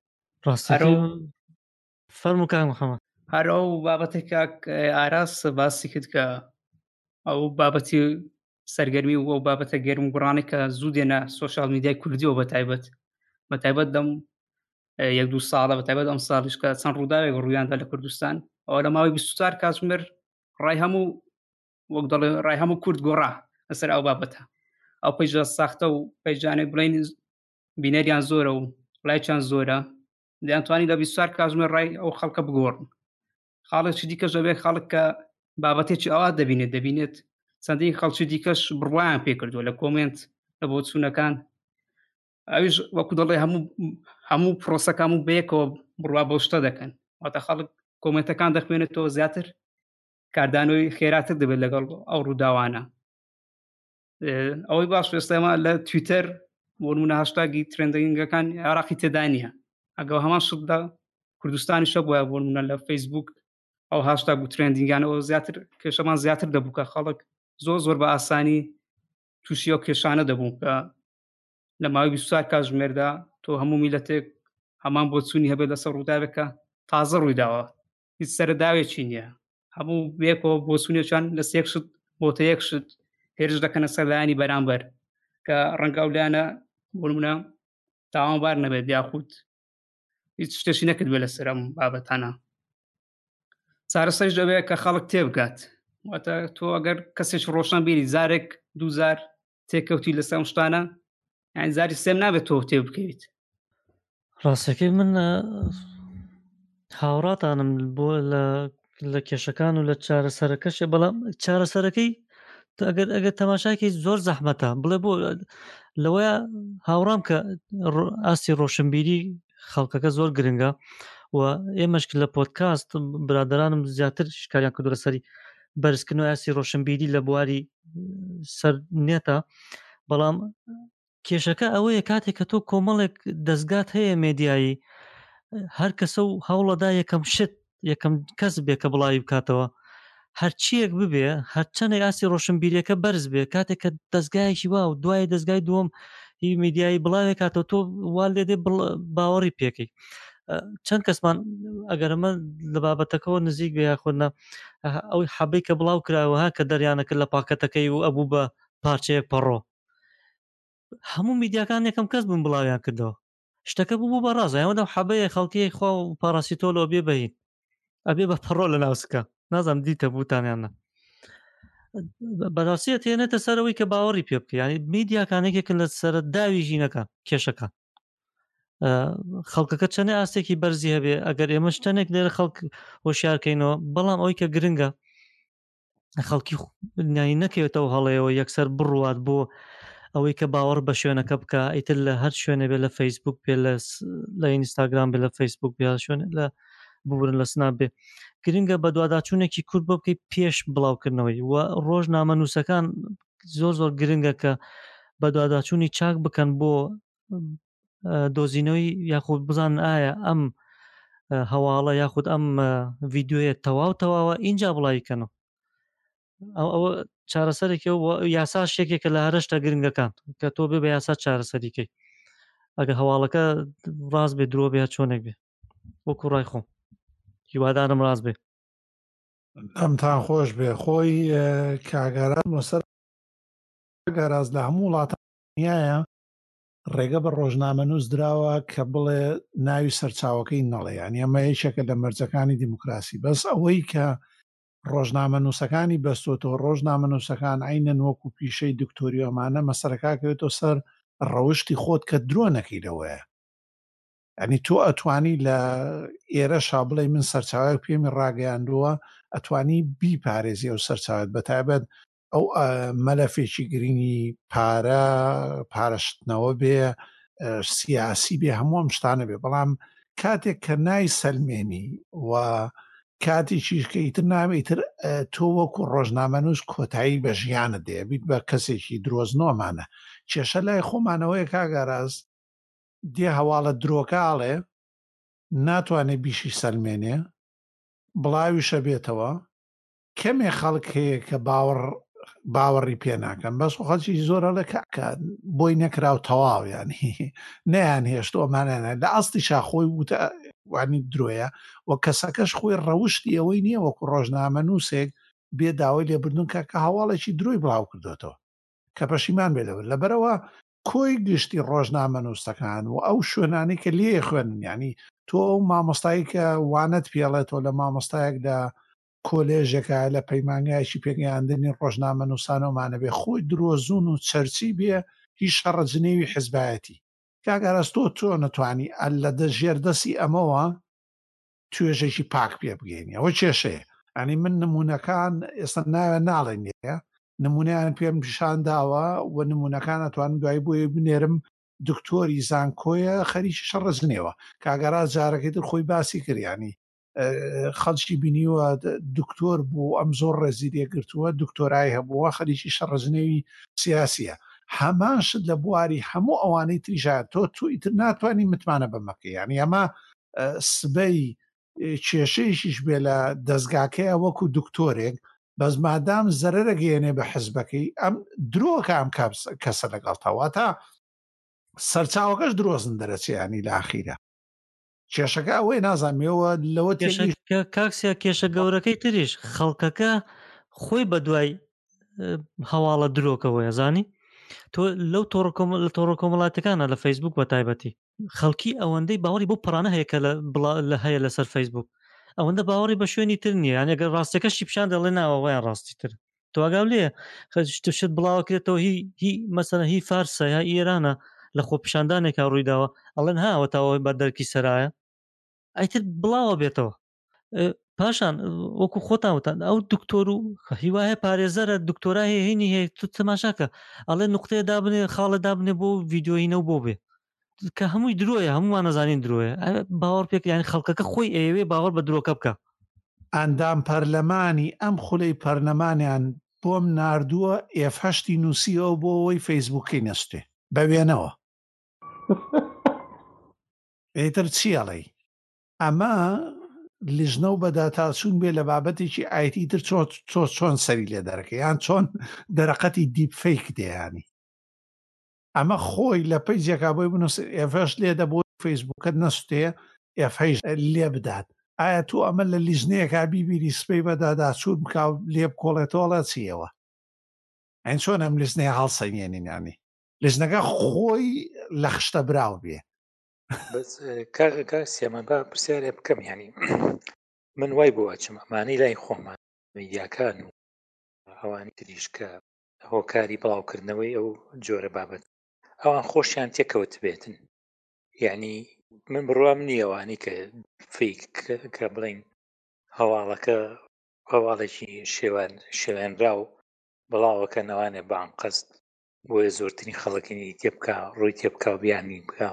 فەرموو کاک محەممەد. هەر ئەو بابەتێکا ئاراس باسی کرد کە ئەو بابەتی سەرگەرمی و ئەو بابەتە گەرم و گوڕانی کە زوو دێنە سۆشال میدیای کوردیەوە بەتایبەت دەم 1-2 ساڵە بەتایبەت ئەم ساڵیش کە چەند ڕووداوێک ڕوویاندا لە کوردستان ئەوە لە ماوەی 24 کاتژمێر ڕای هەموو وەک دەڵێ ڕای هەموو کورد گۆڕا لەسەر ئەو بابەتە. ئەو پێیجە ساختە و پێیجانێک بڵین بینەریان زۆرە و لایچیان زۆرە دەیانتوانی لە 24 کاتژمێر ڕای ئەو خەڵکە بگۆڕن. خاڵێکی دیکەش دەبێت خەڵک کە بابەتێکی ئەوا دەبینێت چەندی خەڵکی دیکەش بڕوایان پێ کردووە لە کۆمنت لە بۆ چوونەکان ئەویش وەکو دەڵێ هەموو پرۆسەکان و بەیەکەوە بڕوا بۆ شتە دەکەن واتە خەڵک کۆمنتەکان دەخوێنێتەوە زیاتر کاردانەوەی خێراتر دەبێت لەگەڵ ئەو ڕووداوانە. ئەوەی باش ئێستاما لە تویتەر بۆ نمونە هاشتاگی ترێندینگەکان عێراقی تێدا نییە ئەگەڵ هەمان شتدا کوردستانی شە بووە بۆ نمونە لە فەیسبوک ئەو هاشتاگ و ترێندینگانەوە زیاتر کێشەمان زیاتر دەبوو کە خەڵک زۆر بە ئاسانی تووشی ئەو کێشانە دەبوو کە لە ماوەی 24 کاتژمێردا تۆ هەموو میلەتێک هەمان بۆ چوونی هەبێت لەسەر ڕووداوێکە تازە ڕوویداوە هیچ سەرداوێکی نییە هەموو بێکەوە بۆ چوونێکیان لە سێک شت بۆتە یەک شت هێرش دەکەنە سەردایانی بەرامبەر کە ڕەنگە ئەو لایەنە بۆ نمونە تاوانبار نەبێت یاخود هیچ شتێکی نەکرد بێت لەسەر ئەم بابەتانە. چارەسەریش دەبێت کە خەڵک تێبگات واتە تۆ ئەگەر کەسێک ڕۆشن بیری زارێک 2000 تێکەوتی لەسەر ئەم شتانە یعنی زاری سێم نابێت تۆ تێ بکەیت. ڕاستەکەی من هاوڕاتانم بۆ لە کێشەکان و لە چارەسەرەکەشێ بەڵام چارەسەرەکەی ئەگەر تەماشاکی زۆر زەحمەتە بڵێ بۆ لەوەیە هاوڕام کە ئاستی ڕۆشنبیری خەڵکەکە زۆر گرنگە و ئێمەشک لە پۆدکاست برادرانم زیاتر شکاریان کردو لەسەری بەرزکردنەوە ئاستی ڕۆشنبیری لە بواری سەر نێتە بەڵام کێشەکە ئەوەیە کاتێک کە تۆ کۆمەڵێک دەستگات هەیە مێدیایی هەر کەسە و هەوڵەدا یەکەم کەس بێ کە بڵاوی بکاتەوە هەرچیەک ببێ هەرچەندێک ئاسی ڕۆشنبیریەکە بەرز بێ کاتێک کە دەستگایەکی وا و دوای دەستگای دووەم هی میدیایی بڵاوێک کاتەوە تۆ وا لێدێ باوەڕی پێکەی. چەند کەسمان ئەگەرمە لە بابەتەکەەوە نزیک بێ یاخودنا ئەوی حەبەی کە بڵاو کراوەها کە دەریانەکرد لە پاکەتەکەی و ئەبوو بە پارچەیەک پەڕۆ هەموو میدیاکان یەکەم کەس بوون بڵاویان کردەوە شتەکە بوو بە ڕاز ئەوەدا حەبەیە خەڵکی خوا و پاراسیتۆلەوە بێ بەهین ئەبێ بە پەڕۆ لە ناوسکە نازانم دیتە بوتانیانە بەڕاستیە تێنێتە سەرەوەی کە باوەڕی پێ بکە ینی میدیاکانێکێکن لە سەرە داوی ژینەکان کێشەکان خەڵکەکە چەنێ ئاستێکی بەرزی هەبێ ئەگەر ئێمە شتێنێک لێرە خەڵک هۆشیارکەینەوە بەڵام ئەوەی کە گرنگە خەڵکی نایی نەکەوێتەوە هەڵەیەوە یەکسەر بڕوات بۆ ئەوەی کە باوەڕ بە شوێنەکە بکە ئیتر لە هەر شوێنە بێ لە فەیسبوک بێ لە ئینستاگرام بێ لە فەیسبوک بێ شوێن لە ببورن لە سناب بێ گرنگە بە دوواداچوونێکی کورد بۆ بکەی پێش بڵاوکردنەوەی و ڕۆژنامە نووسەکان زۆر گرنگە کە بە دوواداچوونی چاک بکەن بۆ دۆزینەوەی یاخود بزان ئایا ئەم هەواڵە یاخود ئەم ڤیددیوەیە تەواوە اینجا بڵاویکەنەوە ئەوە چارەسەرێکی یاسا شتێکێکە لە هەرشتا گرنگەکان کە تۆ بێ بە یاسا چارەسەریکەی ئەگە هەواڵەکە ڕاست بێ درۆ بێ چۆنێک بێ وەکو ڕای خۆم هیوادارم ڕاست بێ ئەمتان خۆش بێ خۆی کاگەران وەسەر گەراز لە هەموو وڵاتانیایە ڕێگە بە ڕۆژنامە نووس دراوە کە بڵێ ناوی سەرچاوەکەی نەڵێ یانی ئەمە یەکێکە لە مەرجەکانی دیموکراسی بەس ئەوەی کە ڕۆژنامە نووسەکانی بەستۆتەوە ڕۆژنامە نووسەکان عینەن وەکو پیشەی دکتۆریۆمانە مەسەرەکەوێتەوە سەر ڕەوشتی خۆت کە درۆ نەکەیتەوەیە ئەنی تۆ ئەتوانی لە ئێرە شابڵی من سەرچاوەیە پێمی ڕاگەیاندووە ئەتوانی بیپارێزی ئەو سەرچاوت بەتایبەت ئەو مەلەفێکی گرنگی پارەشتنەوە بێ سیاسی بێ هەموو ئەم شتانە بێ بەڵام کاتێک کە نای سەلمێنی و کاتێکیش کە ئیتر نامێتتر تۆ وەکو ڕۆژنامە نووس کۆتایی بە ژیانە دێبیت بە کەسێکی درۆزنۆمانە کێشە لای خۆمانەوەی کاگەڕاز دێ هەواڵە درۆکاڵێ ناتوانێت بیشی سەلمێنێ بڵاویشە بێتەوە کەمێ خەڵک هەیە کە باوەڕی پێ ناکەن بەس خەڵکی زۆرە لە کاکات بۆی نەکراو تەواو ینی نەیان هێشتۆمانە لە ئەستی شاخۆی وانی درۆیە و کەسەکەش خۆی ڕەوشتی ئەوەی نییە وەکو ڕۆژنامە نووسێک بێ داوای لێبردون کە هەواڵێکی درۆی بڵاو کردوێتەوە کە پەشیمان بێ لەبێت لەبەرەوە کۆی گشتی ڕۆژنامە نووسەکان و ئەو شوێنانی کە لێ خوێنن ینی تۆ ئەو مامۆستایی کە وانەت پێڵێتەوە لە مامۆستایەک لە کۆلێژێکە لە پەیمانگایکی پێگەیاندنی ڕۆژنامە نووسانەوەمانە بێ خۆی درۆزون و چەرچی بێ هیچ شەڕەجنێوی حیزبایەتی کاگەڕاستۆ تۆ نەتوانی لە ژێردەسی ئەمەوە توێژێکی پاک پێ بگەینی ئەوە کێشەیە ئەنی من نمونونەکان ئێستا ناوێ ناڵێن نیە نمونیان پێم پیشان داوە و نمونونەکان ئەتوانم دوای بۆیە بنێرم دکتۆری زانکۆیە خەریکی شەڕەجنێەوە کاگەڕا جارەکەی تر خۆی باسی کردیانی خەڵکی بینیوە دکتۆر بوو ئەم زۆر ڕێزی لێگرتووە دکتۆرای هەبووە خەریکی شەڕەجنێوی سیاسیە هەمان شت لە بواری هەموو ئەوانەی تریژات تۆ تویتر ناتوانانی متمانە بەمەکە ینی ئەمە سبەی کێشەیەکیش بێ لە دەستگاکەیە وەکو دکتۆرێک بەس مادام زەرەرە گەیەنێ بە حزبەکەی ئەم درۆکە ئەم کەسە لەگەڵتەوە تا سەرچاوەکەش درۆزن دەرەچیانی لە ئاخیرە کێشەکە ئەوەی نازانێەوە لەوە کاکسیا کێشە گەورەکەی تریش خەڵکەکە خۆی بە دوای هەواڵە درۆکەوەیە زانی تۆ لەو تۆڕە کۆمەڵاتەکانە لە فەیسبوک بە تایبەتی خەڵکی ئەوەندەی باوەڕی بۆ پڕانە هەیە کە لە هەیە لەسەر فەیسبوک ئەوەندە باوەڕی بە شوێنی تر نییە یان ئەگەر ڕاستەکەشی پیشان دەڵێ ناوەوەیان ڕاستی تر تۆگاو لێ خەشت بڵاوکرێتەوە هی مەسەلەن هی فارسە یا ئێرانە لە خۆ پیشاندانێکا ڕوویداوە ئەڵێن هاوە تاوەی بە دەرکی سەرایە ئەیتر بڵاوە بێتەوە پاشان وەکو خۆتانوتان ئەو دکتۆر و هیوایە پارێزەرە دکتۆرای هینی هەیە تو تەماشاکە ئەڵێ نقطەیە دابنێ خاڵە دابنێ بۆ ڤیددیۆینەوە بۆ بێ کە هەمووی درۆیە هەمومان نەزانین درۆیە باوەڕ پێک یانی خەڵکەکە خۆی ئەوێ باوەڕ بە درۆکە بکە ئەندام پەرلەمانی ئەم خولەی پەرلەمانیان بۆم ناردووە ئێفهشتی نووسیەوە بۆ ئەوەی فەیسبووکەی نەستێ بەوێنەوە ئیتر چیاڵی ئەمە لیژنە و بەداتاچوون بێ لە بابەتێکی ئایتی تر چۆن سەری لێ دەرەکە یان چۆن دەرەقەتی دیپ فەیک دێیانی ئەمە خۆی لە پەیجێکا بۆی بنووس ئێفەش لێدە بۆ فەیسبووکت نەستێ ئێفەیش لێ بدات ئایا تو ئەمە لە لیژنەیەکا بیبیری سپەی بەداداچوون بکاو لێ بکۆڵێتۆڵە چیەوە ئەین چۆن ئەم لیژنەیە هەڵسەنگێنینانی لیژنەکە خۆی لە خشتە براو بێ بەس کاسیەمە با پرسیارێ بکەم ینی من وای بۆ ئەچم ئەمانەی لای خۆمان میدیاکان و ئەوانی تریشکە هۆکاری بڵاوکردنەوەی ئەو جۆرە بابەت ئەوان خۆشیان تێکەوت بێتن یعنی من بڕوام نییەوانی کە فیک کە بڵین هەواڵەکە هەواڵێکی شێوێنرا و بڵاوەکە نەوانێ بانقەست بۆیە زۆرترین خەڵکی تێبکە ڕووی تێبکە و بیانی بکە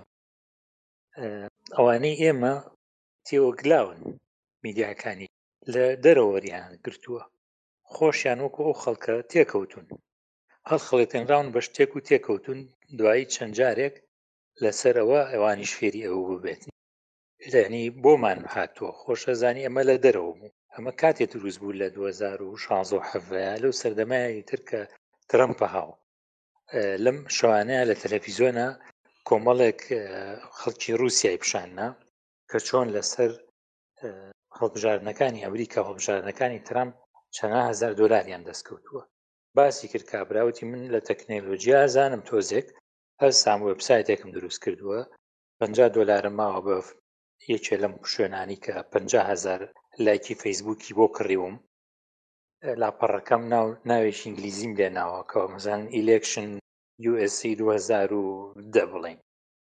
ئەوانەی ئێمە تێوەگلاون میدیاکانی لە دەرەوەریان گرتووە خۆشیان وەکو ئەو خەڵکە تێکەوتون هەڵخەڵێتێنراون بە شتێک و تێکەوتون دوایی چەند جارێک لەسەرەوە ئەوانیش فێری ئەوە ببێت لەنی بۆمان هاتووە خۆشەزانی ئەمە لە دەرەوە بوو ئەمە کاتێک دروست بوو لە 2016 لەو سەردەمای تر کە ترەمپە هاو لەم شەوانەیە لە تەلەڤیزۆنە کۆمەڵێک خەڵکی رووسیای پیشاننا کە چۆن لەسەر هەڵبژاردنەکانی ئەمریکا هەڵبژاردنەکانی ترامپ چەند هەزار دۆلاریان دەستکەوتووە باسی کرد کابراوتی من لە تەکنۆلۆژیا زانم تۆزێک هەستام وێبسایتێکم دروست کردووە $50 ماوە بە یەکێ لەم شوێنانی کە 50,000 لایکی فەیسبووکی بۆ کڕیوم لاپەڕەکەم ناوێکی ئینگلیزیم لێ ناوەکەوە مەزان ئیلێکشن USA 2010 بڵین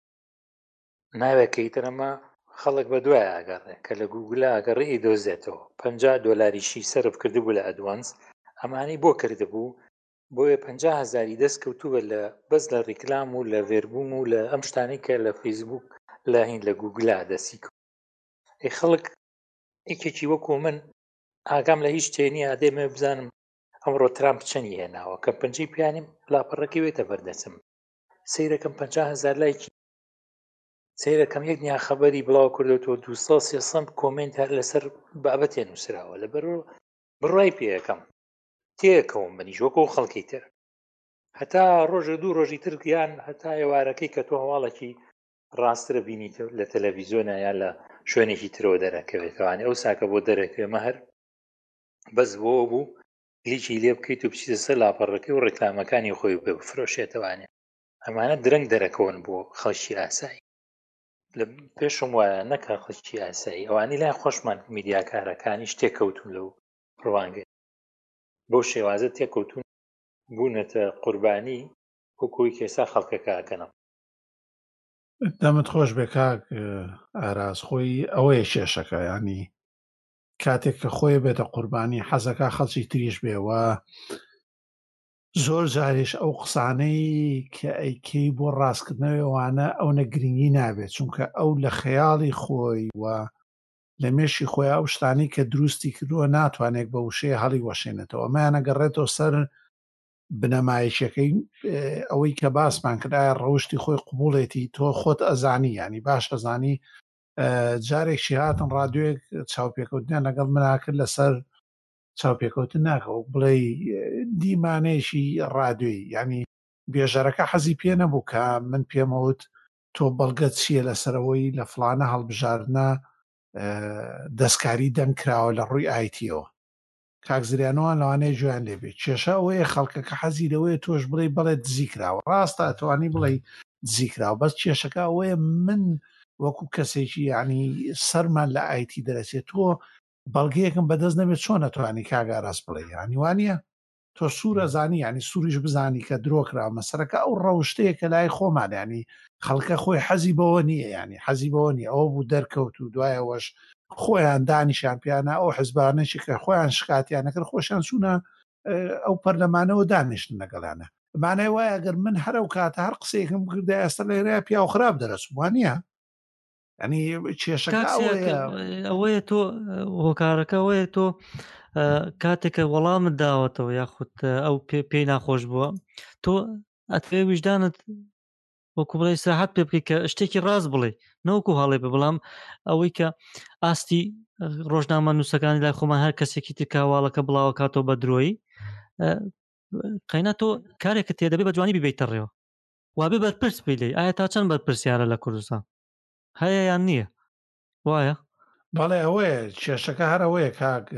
ناوێکەی ترەمە خەڵک بە دوای ئاگەڕێ کە لە گوگلە ئاگەڕی دۆزێتەوە $50 سەرف کردبوو لە ئەدوانس ئەمانەی بۆ کردبوو بۆیە 50,000 دەست کەوتووە لە بەس لە ڕیکلام و لە ڤێربووم و لە ئەم شتانی کە لە فەیسبوک لە هین لە گوگلا دەستی کرد ئەی خەڵک یەکێکی وەکو من ئاگام لە هیچ شتێنی ئادێمە بزانم ئەمڕۆ ترامپ چەندی هێناوە کە پەنجەی پیانیم لاپەڕەکەی وێتە بەردەچم سیرەکەم 50,000 لایکی سیرەکەم یەک نیا خەبەری بڵاو کردوەوە 200 کۆمنت هەر لەسەر بابەتێ نووسراوە لە بڕای پێەکەم تێکەوم بەنیژۆکە و خەڵکی تر هەتا ڕۆژە دوو ڕۆژی ترکیان هەتا ئێوارەکەی کە تۆ هەواڵێکی ڕاسترە بینیت لە تەلەڤیزۆنە یان لە شوێنێکی ترەوە دەرەکەوێتەوانێ ئەو ساکە بۆ دەرەکەوێمە هەر بەس بۆ بوو کلیکی لێ بکەیت و بچیتە سەر لاپەڕەکەی و ڕێکلامەکانی خۆی پێ بفرۆشێتەوانێ ئەمانە درەنگ دەرەکەون بۆ خەڵکی ئاسایی لە پێشم وایە نەکە خەڵکی ئاسایی ئەوانی لای خۆشمان میدیاکارەکانی شتێککەوتون لەو ڕوانگەی بۆ شێوازە تێککەوتون بوونەتە قوربانی وەکوی کێسا خەڵکەکەکەنم دەمت خۆش بێ کاک ئاراز خۆی ئەوەیە کێشەکە ینی کاتێک کە خۆی بێتە قوربانی حەزەکە خەڵکی تریش بێەوە زۆر جارێش ئەو قسانەی کە ئەیکەی بۆ ڕاستکردنەوەوانە ئەو نەگرنگی نابێت چونکە ئەو لە خەیاڵی خۆی و لە مێشی خۆی ئەو شتانی کە دروستی کردووە ناتوانێت بە وشەیە هەڵی وەشێنێتەوە ئەمایانە گەڕێتەوە سەر بنەمایشەکەی ئەوەی کە باسمان کردایە ڕەوشی خۆی قوبوڵێتی تۆ خۆت ئەزانی ینی باش ئەزانی جارێکشی هاتن ڕادیۆیەک چاوپێکەوتنیان لەگەڵ مناکرد لەسەر چاوپێکەوتن ناکەوە بڵێ دیمانەیەشی ڕادیۆی ینی بێژەرەکە حەزی پێ نەبوو کە من پێمەوت تۆ بەڵگەت چییە لەسەرەوەی لە فلانە هەڵبژاردنە دەستکاری دەنگکراوە لە ڕووی ئایتیەوە کاکزریانەوان لەوانەیە جویان لێبێت کێشە ئەوەیە خەڵکەکە حەزی لەوەیە تۆش بڵێ بەڵێت دزیکراوە ڕاستە ئەتوانی بڵێ دزیکراوە بەس کێشەکە ئەوەیە من وەکو کەسێکی ینی سەرمان لە ئایتی دەرەچێت تۆ بەڵگەیەکم بەدەست نەبێت چۆن نەتوانی کاگاڕاست بڵێ ینی وانە تۆ سوورە زانی ینی سووریش بزانی کە درۆکراوە مەسەرەکە ئەو ڕەوشتەیە کە لای خۆمان ینی خەڵکە خۆی حەزی بەوە نییە ینی حەزی بەوە نیە ئەوە بوو دەرکەوت و دوایەوەش خۆیان دانیشان پیانە ئەو حزبانێکی کە خۆیان شکاتیانەکرد خۆشیان چوونە ئەو پەرلەمانەوە دانیشتن لەگەڵانە مانای وایە ئەگەر من هەرە و کاتە هەر قسەیەکم بکردا ئێستا لێرە پیا و خراپ دەرەچوو وانە ینی کێشەکە ئەوەیە تۆ هۆکارەکە ئەوەیە تۆ کاتێکە وەڵامت داوەتەوە یاخود ئەو پێی ناخۆش بووە تۆ ئەتوێ ویژدانت وەکو بڵێ ساحەت پێ بکەیت کە شتێکی ڕاست بڵێ نەوەکو هەڵێ بە بەڵام ئەوەی کە ئاستی ڕۆژنامە نووسەکانی لای خۆمان هەر کەسێکی تکاواڵەکە بڵاوە کاتەوە بە درۆی قەینا تۆ کارێکە تێدەبێ بە جوانی ببیتە ڕێوە وابێ بەرپرس بی لێ ئایا تا چەند بەرپرسیارە لە کوردستان هەیە یان نییە وایە بەڵێ ئەوەیە کێشەکە هەرەوەیە کاک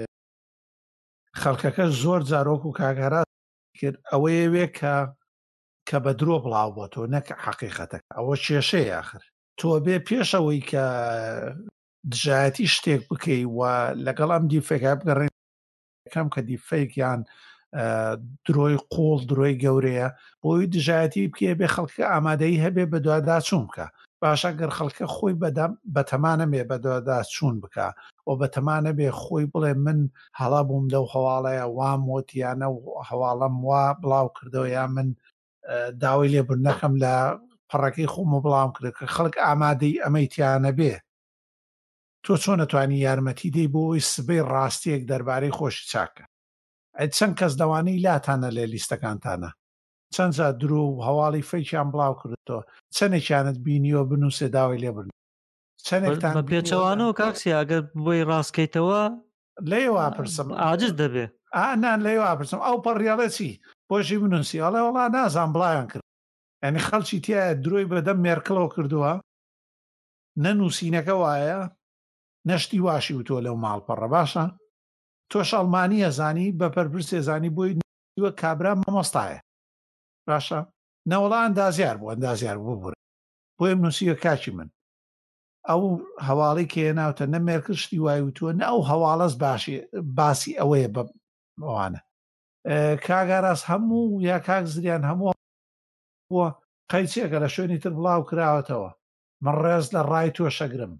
خەڵکەکە زۆر جارۆک و کاگەرا کرد ئەوەیە وێ کە بە درۆ بڵاو بۆ تۆ نەک حەقیقەتەکە ئەوە کێشەیە آخر تۆ بێ پێشەوەی کە دژایەتی شتێک بکەی و لەگەڵ ئەم دیفێکە بگەڕێن کەم کە دیفەیەکیان درۆی قوڵ درۆی گەورەیە بۆی دژایەتی بکێ بێ خەڵکە ئامادەی هەبێ بە دوواداچوون بکە باشە گەر خەڵکە خۆی بەتەمانە بێ بە دوواداچوون بکە و بەتەمانە بێ خۆی بڵێ من هەڵا بووم لەو هەواڵەیە وام وتیانە و هەواڵەم وا بڵاو کردەوە یا من داوای لێبوردنەکەم لە پەڕەکەی خۆمە بڵاوم کرد کە خەڵک ئامادەی ئەمەیتیانە بێ تۆ چۆن نەتوانی یارمەتی دەی بۆ ئەوی سبەی ڕاستیەک دەربارەی خۆشی چاکە چەند کەس دەوانەی لاتانە لێ لیستەکانتانە چەند جا درۆ و هەواڵی فەیکیان بڵاو کردەوە چەندێکیانت بینیوە بنووسێ داوای لێبرن چەندێکتان پێچەوانەوە کاکسی ئەگەر بۆی ڕاستکەیتەوە لێوە پرسم عاجز دەبێ نان لێوە پرسم ئەو پەڕیاڵە چی بۆشی بنووسی ئەڵێ وڵا نازان بڵایان کرد ینی خەڵکی تایە درۆی بەدەم مێرکڵەوە کردووە نەنووسینەکە وایە نەشتی واشی و تۆ لەو ماڵپەڕە باشە تۆش ئەڵمانیە زانی بە پەرپرسێ زانی بۆی وە کابرا مامۆستایە باشە نەوەڵا ئەندازیار بوو ئەندازیار بوو بڕێ بۆی نووسیە کاکی من ئەو هەواڵی کە ناوتە نەمێرکشتی وای وتووە نە ئەو هەواڵەس باسی ئەوەیە بەوانە کاگاراس هەموو یا کاک زریان هەموو بووە قەیچێکە لە شوێنی تر بڵاو کراوەتەوە من ڕێز لە ڕای تۆ شەگرم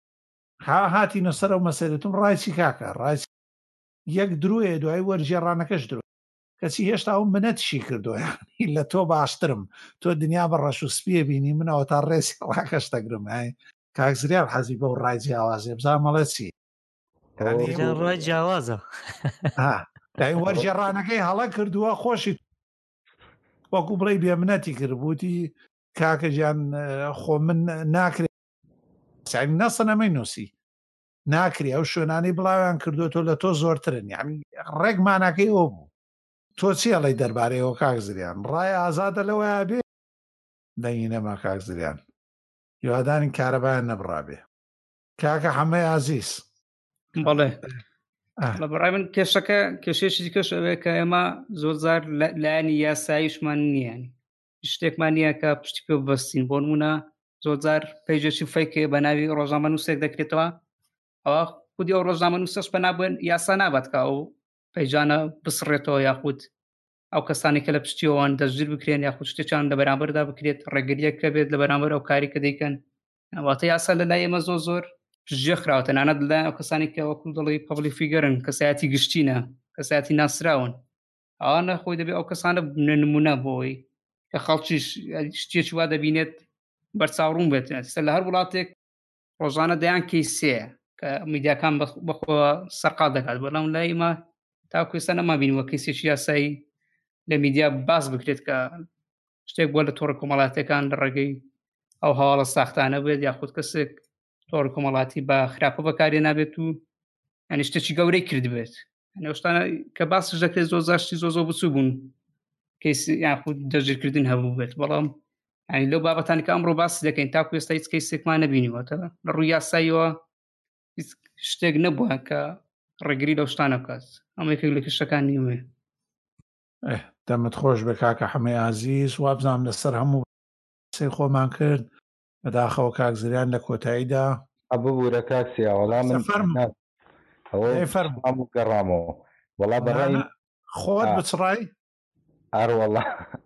هاتی نەسەر و مەسەرێتم ڕایچی کاکە ڕای یەک درۆیە دوای وەرجێڕانەکەش درۆ کەچی هێشتا ئەو منەتشی کردووە لە تۆ باشترم تۆ دنیا بە ڕەش و سپیە بینی منەوە تا ڕێسی ڕاکەش دەگرم کاک زریان حەزی بەو ڕای جیاوازێ بزان مەڵێ چی ڕای جیاوازە دای وەرجێڕانەکەی هەڵە کردووە خۆشی وەکو بڵێ بێمنەتی کردبووتی کاکە گیان خۆ من ناکرێت نەسەنەمەی نووسی ناکری ئەو شوێنانی بڵاویان کردو تۆ لە تۆ زۆرترن یعنی ڕێکمانەکەی ئەو بوو تۆ چیڵی دەربارەیەوە کاک زریان ڕای ئازادە لەوەیە بێ دەینەما کاک زریان هیوادانی کارەبایان نەبڕابێ کاکە حەمەی عەزیز بەڵێ لە بەڕای من کێشەکە کێشێکی کەش ئەوەیە کە ئێمە زۆرجار لایەنی یاساییشمان نییە شتێکمان نییە کە پشتی پێ ببەستین بۆ نمونە زۆرجار پەیجێکی فەیکێ بە ناوی ڕۆژنامە نووسێک دەکرێتەوە ئەوە خودی ئەو ڕۆژنامە نووسەش بە نابوون یاسا نابێت کە ئەو پەیجانە بسڕێتەوە یاخود ئەو کەسانی کە لە پشتیەوەوان دەستگیر بکرێن یاخود شتێکیان لە بەرامبەردا بکرێت ڕێگریەکە بێت لە بەرامبەر ئەو کاری کە دەیکەن واتە یاسا لە لای ئێمە زۆر پشتگوێ خراوە تەنانەت لەلایەن ئەو کەسانی کە وەکو دەڵێی پەبلیک فیگەرن کەسایەتی گشتینە کەسایەتی ناسراون ئەوانە خۆی دەبێت ئەو کەسانە بنە نمونە بۆی کە خەڵکیش شتێکی وا دەبینێت بەرچاوڕوون بێت لە هەر وڵاتێک ڕۆژانە دەیان کەیسەیە کە میدیاکان بەخۆ سەرقال دەکات بەڵام لای ئێمە تاکو ئێستا نەمابینیوە کەیسێکی یاسایی لە میدیا باس بکرێت کە شتێک بۆ لە تۆڕە کۆمەڵاتیەکان لە ڕێگەی ئەو هەواڵە ساختانە بێت یاخود کەسێک تۆڕە کۆمەڵاتی بە خراپە بەکارێ نابێت و یعنی شتێکی گەورەی کرد بێت شتانە کە باسش دەکرێت زۆرزاشتی زۆ بچوو بوون کەیسی یاخود دەژیرکردن هەبوو بێت بەڵام یعنی لەو بابەتانی کە ئەمڕۆ باس دەکەین تاکو ئێستا هیچ کەیسێکمان نەبینیوەتە لە ڕووی یاساییەوە شتێک نەبووە کە ڕێگری لەو شتانە بکات ئەمە یەکێک لە کێشەکانی وێ دەمت خۆش بە کاکە حەمەی عەزیز وابزانام لەسەر هەموو سێ خۆمان کرد بەداخەوە کاک زریان لە کۆتاییدا ببوورە کاکسیا وەڵام من هەموو گەڕامەوە وەڵا بەڕای خۆت بچڕای ئەروەڵا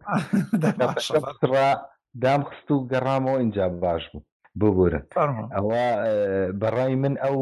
دام خست و گەڕامەوە اینجا باش بوو ببوورە ئەوە بەڕای من ئەو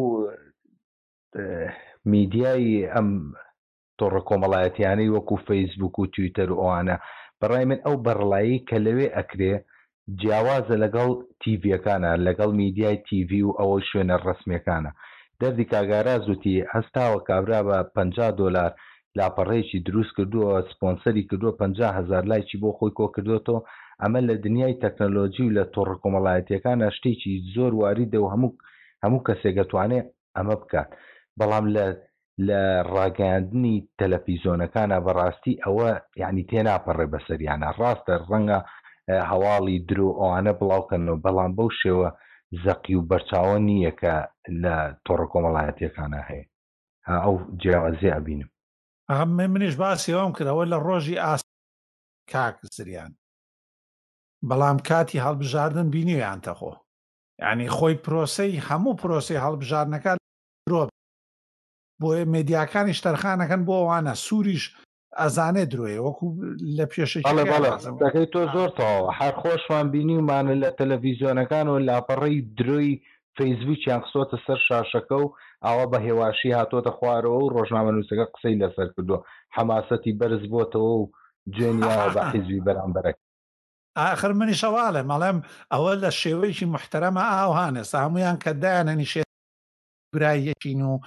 میدیای ئەم تۆڕە کۆمەڵایەتیانەی وەکو فەیسبوک و تویتەر و ئەوانە بەڕای من ئەو بەرڵایی کە لەوێ ئەکرێ جیاوازە لەگەڵ تیڤیەکانە لەگەڵ میدیای تیڤی و ئەوە شوێنە ڕسمیەکانە دەردی کاگاراز وتی هەستاوە کابرا بە $50 لاپەڕەیەکی دروست کردووە سپۆنسەری کردووە 50,000 لایکی بۆ خۆی کۆ کردوەوە ئەمە لە دنیای تەکنۆلۆژی و لە تۆڕە کۆمەڵایەتیەکانە شتێکی زۆر واریدە و هەموو کەسێک دەتوانێت ئەمە بکات بەڵام لە ڕاگەاندنی تەلەڤیزۆنەکانە بەڕاستی ئەوە یعنی تێناپەڕێ بەسەریانە ڕاستە ڕەنگە هەواڵی درۆ ئەوانە بڵاوکەنەوە بەڵام بەو شێوە زەقی و بەرچاوە نییە کە لە تۆڕە کۆمەڵایەتیەکانە هەیە ئەو جیاوازی ئەبینم منیش باسی ئەوم کردەوە لە ڕۆژی کاک زریان بەڵام کاتی هەڵبژاردن بینیویان تەخۆ یعنی خۆی پرۆسەی هەموو پرۆسی هەڵبژاردنەکان درۆ بۆ مێدیاکانی شتەرخانەکەن بۆ ئەوانە سووریش ئەزانێ درۆیە وەکو لە پێشەکەی تۆ زۆرتەوە هەر خۆشمان بینیمانە لە تەلەڤیزۆنەکان و لاپەڕەی درۆی فەیسبووکیان قسۆتە سەر شاشەکە و ئەوە بە هێواشی هاتۆتە خوارەوە و ڕۆژنامە نووسەکە قسەی لەسەر کردووە حەماسەتی بەرز بۆتەوە و جێنیاوە بە حیزبی بەرامبەرەکە ئاخر منی شەواڵێ مەڵێم ئەوە لە شێوەیەکی محتەرەمە ئاوهانە هەمویان کە دایانەنی شێ برایەکین و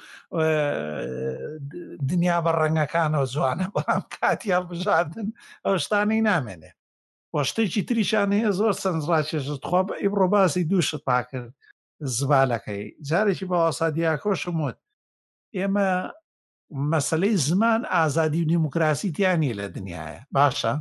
دنیا بە ڕەنگەکانەوە جوانە بەڵام کاتی هەڵبژاردن ئەو شتانەی نامێنێ بۆ شتێکی تریشان هەیە زۆر سنجڕاکێشت خوا بە ئیبڕۆباسی دووشت پاکرد زبالەکەی جارێکی باوەسا دیاکۆشم وت ئێمە مەسەلەی زمان ئازادی و دیموکراسی تیانی لە دنیاە باشە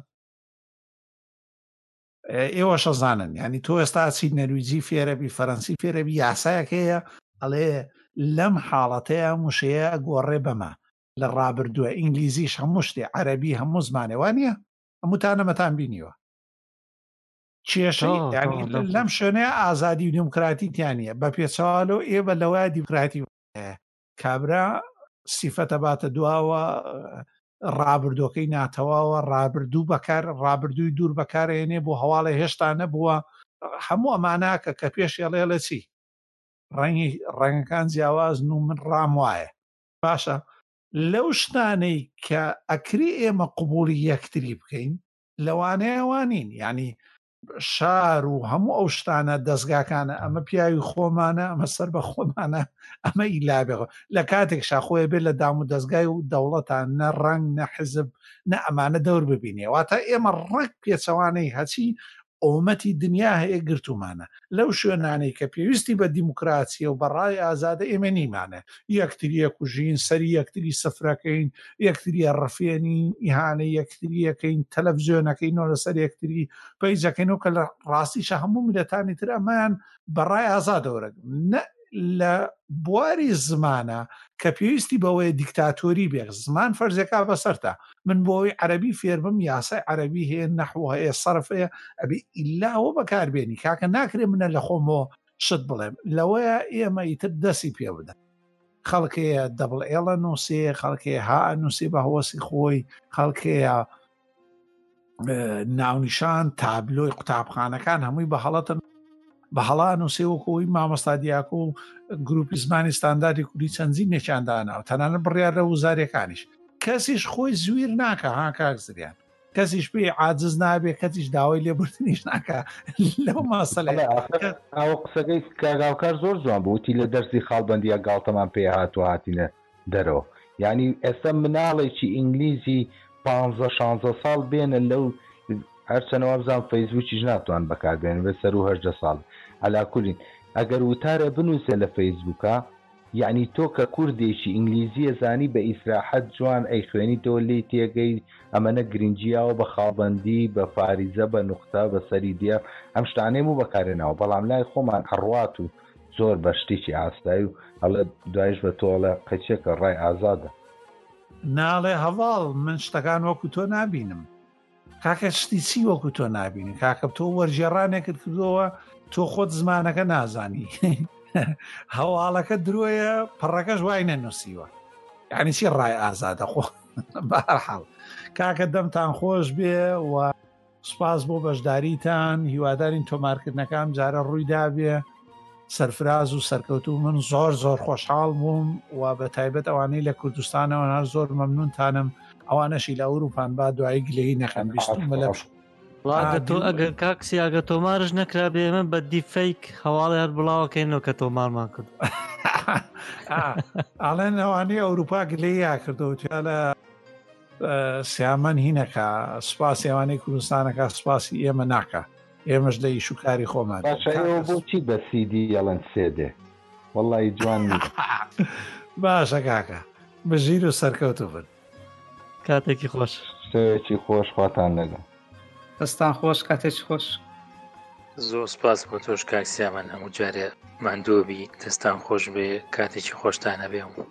ئێوە شەزانن ینی تۆ ئێستا چی نەرویجی فێرەبی فەرەنسی فێرەبی یاسایەک هەیە ئەڵێ لەم حاڵەتەیە موشەیە گۆڕێ بەمە لە ڕابردووە ئینگلیزیش هەموو شتێ عەرەبی هەموو زمانێوانە هەمووتانەمەتان بینیوە کێشەی لەم شوێنەیە ئازادی و دیموکراتی تیانە بە پێچەوالۆ ئێوە لەوای دیموکراتی کابرا سیفەتە باتە دواوە ڕابردوەکەی ناتەواوە ڕابردوو بەکار ڕابردووی دوور بەکارێنێ بۆ هەواڵی هێشتا نەبووە هەموو ئەماناکە کە پێشێڵێ لە چی ڕەنگەکان جیاوازن و من ڕام وایە باشە لەو شتانەی کە ئەکری ئێمە قبولی یەکتری بکەین لەوانەیەوانین ینی شار و هەموو ئەو شتانە دەستگاکانە ئەمە پیاوی خۆمانە ئەمە سەر بە خۆمانە ئەمە ئیلابێەوە لە کاتێک شاخۆیە بێت لە دام و دەستگای و دەوڵەتان نە ڕنگ نە حزب نە ئەمانە دەور ببینێ واتە ئێمە ڕێک پێچەوانەی هەچی ئۆمەتی دنیا هەیە گرتومانە لەو شوێنانەی کە پێویستی بە دیموکراسیە و بەڕای ئازادە ئێمە نیمانە یەکتریە کوژین سەری یەکتری سەفرەکەین یەکتریە ڕفێنین ئیهانە یەکتریەکەین تەلەڤیزیۆنەکەینەوە لەسەر یەکتری پەیجەکەینەوە کە لە ڕاستیشە هەموو میلەتانی تر ئەمان بەڕای ئازادەوەرە لە بواری زمانە کە پێویستی بەوەی دیکتاتۆری بێ زمان فەرزێکا بەسەرتا من بۆەوەی عەرەبی فێربم یاسای عەرەبی هەیە نەحو هەیە سەرف هەیە ئەبێ ئیلاوە بەکاربێنی کاکە ناکرێ منە لە خۆمەوە شت بڵێم لەوەیە ئێمە ئیتر دەستی پێ بدەن خەڵکەیە دەبڵ ئێڵە نووسێ خەڵکەیە ها نووسێ بە هەوەسی خۆی خەڵکەیە ناونیشان تابلۆی قوتابخانەکان هەمووی بە هەڵەتن بە هەڵان و سێوەکەوەی مامۆستا دیاکۆ و گروپی زمانی ستانداردی کوردی چەندین نێکیانداناوە تەنانەت بڕیار لە وزارەکانیش کەسیش خۆی زویر ناکە ها کاک زریان کەسیش پێی عاجز نابێ کەسیش داوای لێبوردنیش ناکە لەو ماسەلەیە ئەو قسەکەی کاگاوکار زۆر جوان بووتی لە دەرسی خاڵبەندیە گاڵتەمان پێ هاتووە هاتینە دەرەوە یعنی ئێستا مناڵێکی ئینگلیزی 15-16 ساڵ بێنە لەو هەرچەنەوە بزان فەیسبووکیش ناتوان بەکاربێنن بە سەر و 18 ساڵ هەلاکولین ئەگەر وتارە بنووسێ لە فەیسبووکە یعنی تۆ کە کوردێکی ئینگلیزیە زانی بە ئیسراحەت جوان ئەی خوێنی تۆ لێی تێگەی ئەمەنە گرنگجیاوە بە خاڵبەندی بە فاریزە بە نوختە بە سەری دیە ئەم شتانەی و بەکارێنەوە بەڵام لای خۆمان هەڕوات و زۆر بە شتێکی ئاستایی و هەڵە دوایش بە تۆڵە قەچێکە ڕای ئازادە ناڵێ هەواڵ من شتەکان وەکو تۆ نابینم کاکە شتی چی وەکو تۆ نابینی کاکە تۆ وەرجێڕانێکت کردەوە تۆ خۆت زمانەکە نازانی هەواڵەکە درۆیە پڕەکەش وای نەنووسیوە یعنی چی ڕای ئازادە خۆ بەهەرحاڵ کاکە دەمتان خۆش بێ و سوپاس بۆ بەشداریتان هیوادارین تۆمارکردنەکەم جارە ڕوویدا بێ سەرفراز و سەرکەوتو من زۆر زۆر خۆشحاڵ بووم و بە تایبەت ئەوانەی لە کوردستانەوە هەر زۆر مەمنونتانم ئەوانەشی لە ئەوروپان با دوایی گلەی نەکەن بیستم لە تۆ ئەگەر کاکسی ئەگە تۆمارش نەکرا بێ ئێمە بە دیفەیک هەواڵی هەر بڵاوەکەینەوە کە تۆمارمان کرد ئاڵێن ئەوانەی ئەوروپا گلەی یا کردەوە لە سیامان هینەکە سوپاسی ئەوانەی کوردستانەکە سوپاسی ئێمە ناکە ئێمەش لە ئیشوکاری خۆمان بۆچی بە سیدی یاڵەن سێدێ وەڵی جوان باشە کاکە بەژیر و سەرکەوتو بن کاتێکی خۆش شتێکی خۆش خواتان لەگەڵ دەستان خۆش کاتێکی خۆش زۆر سپاس بۆ تۆش کاکسیامان هەموو جارێ ماندۆبی دەستان خۆش بێ کاتێکی خۆشتانە بێ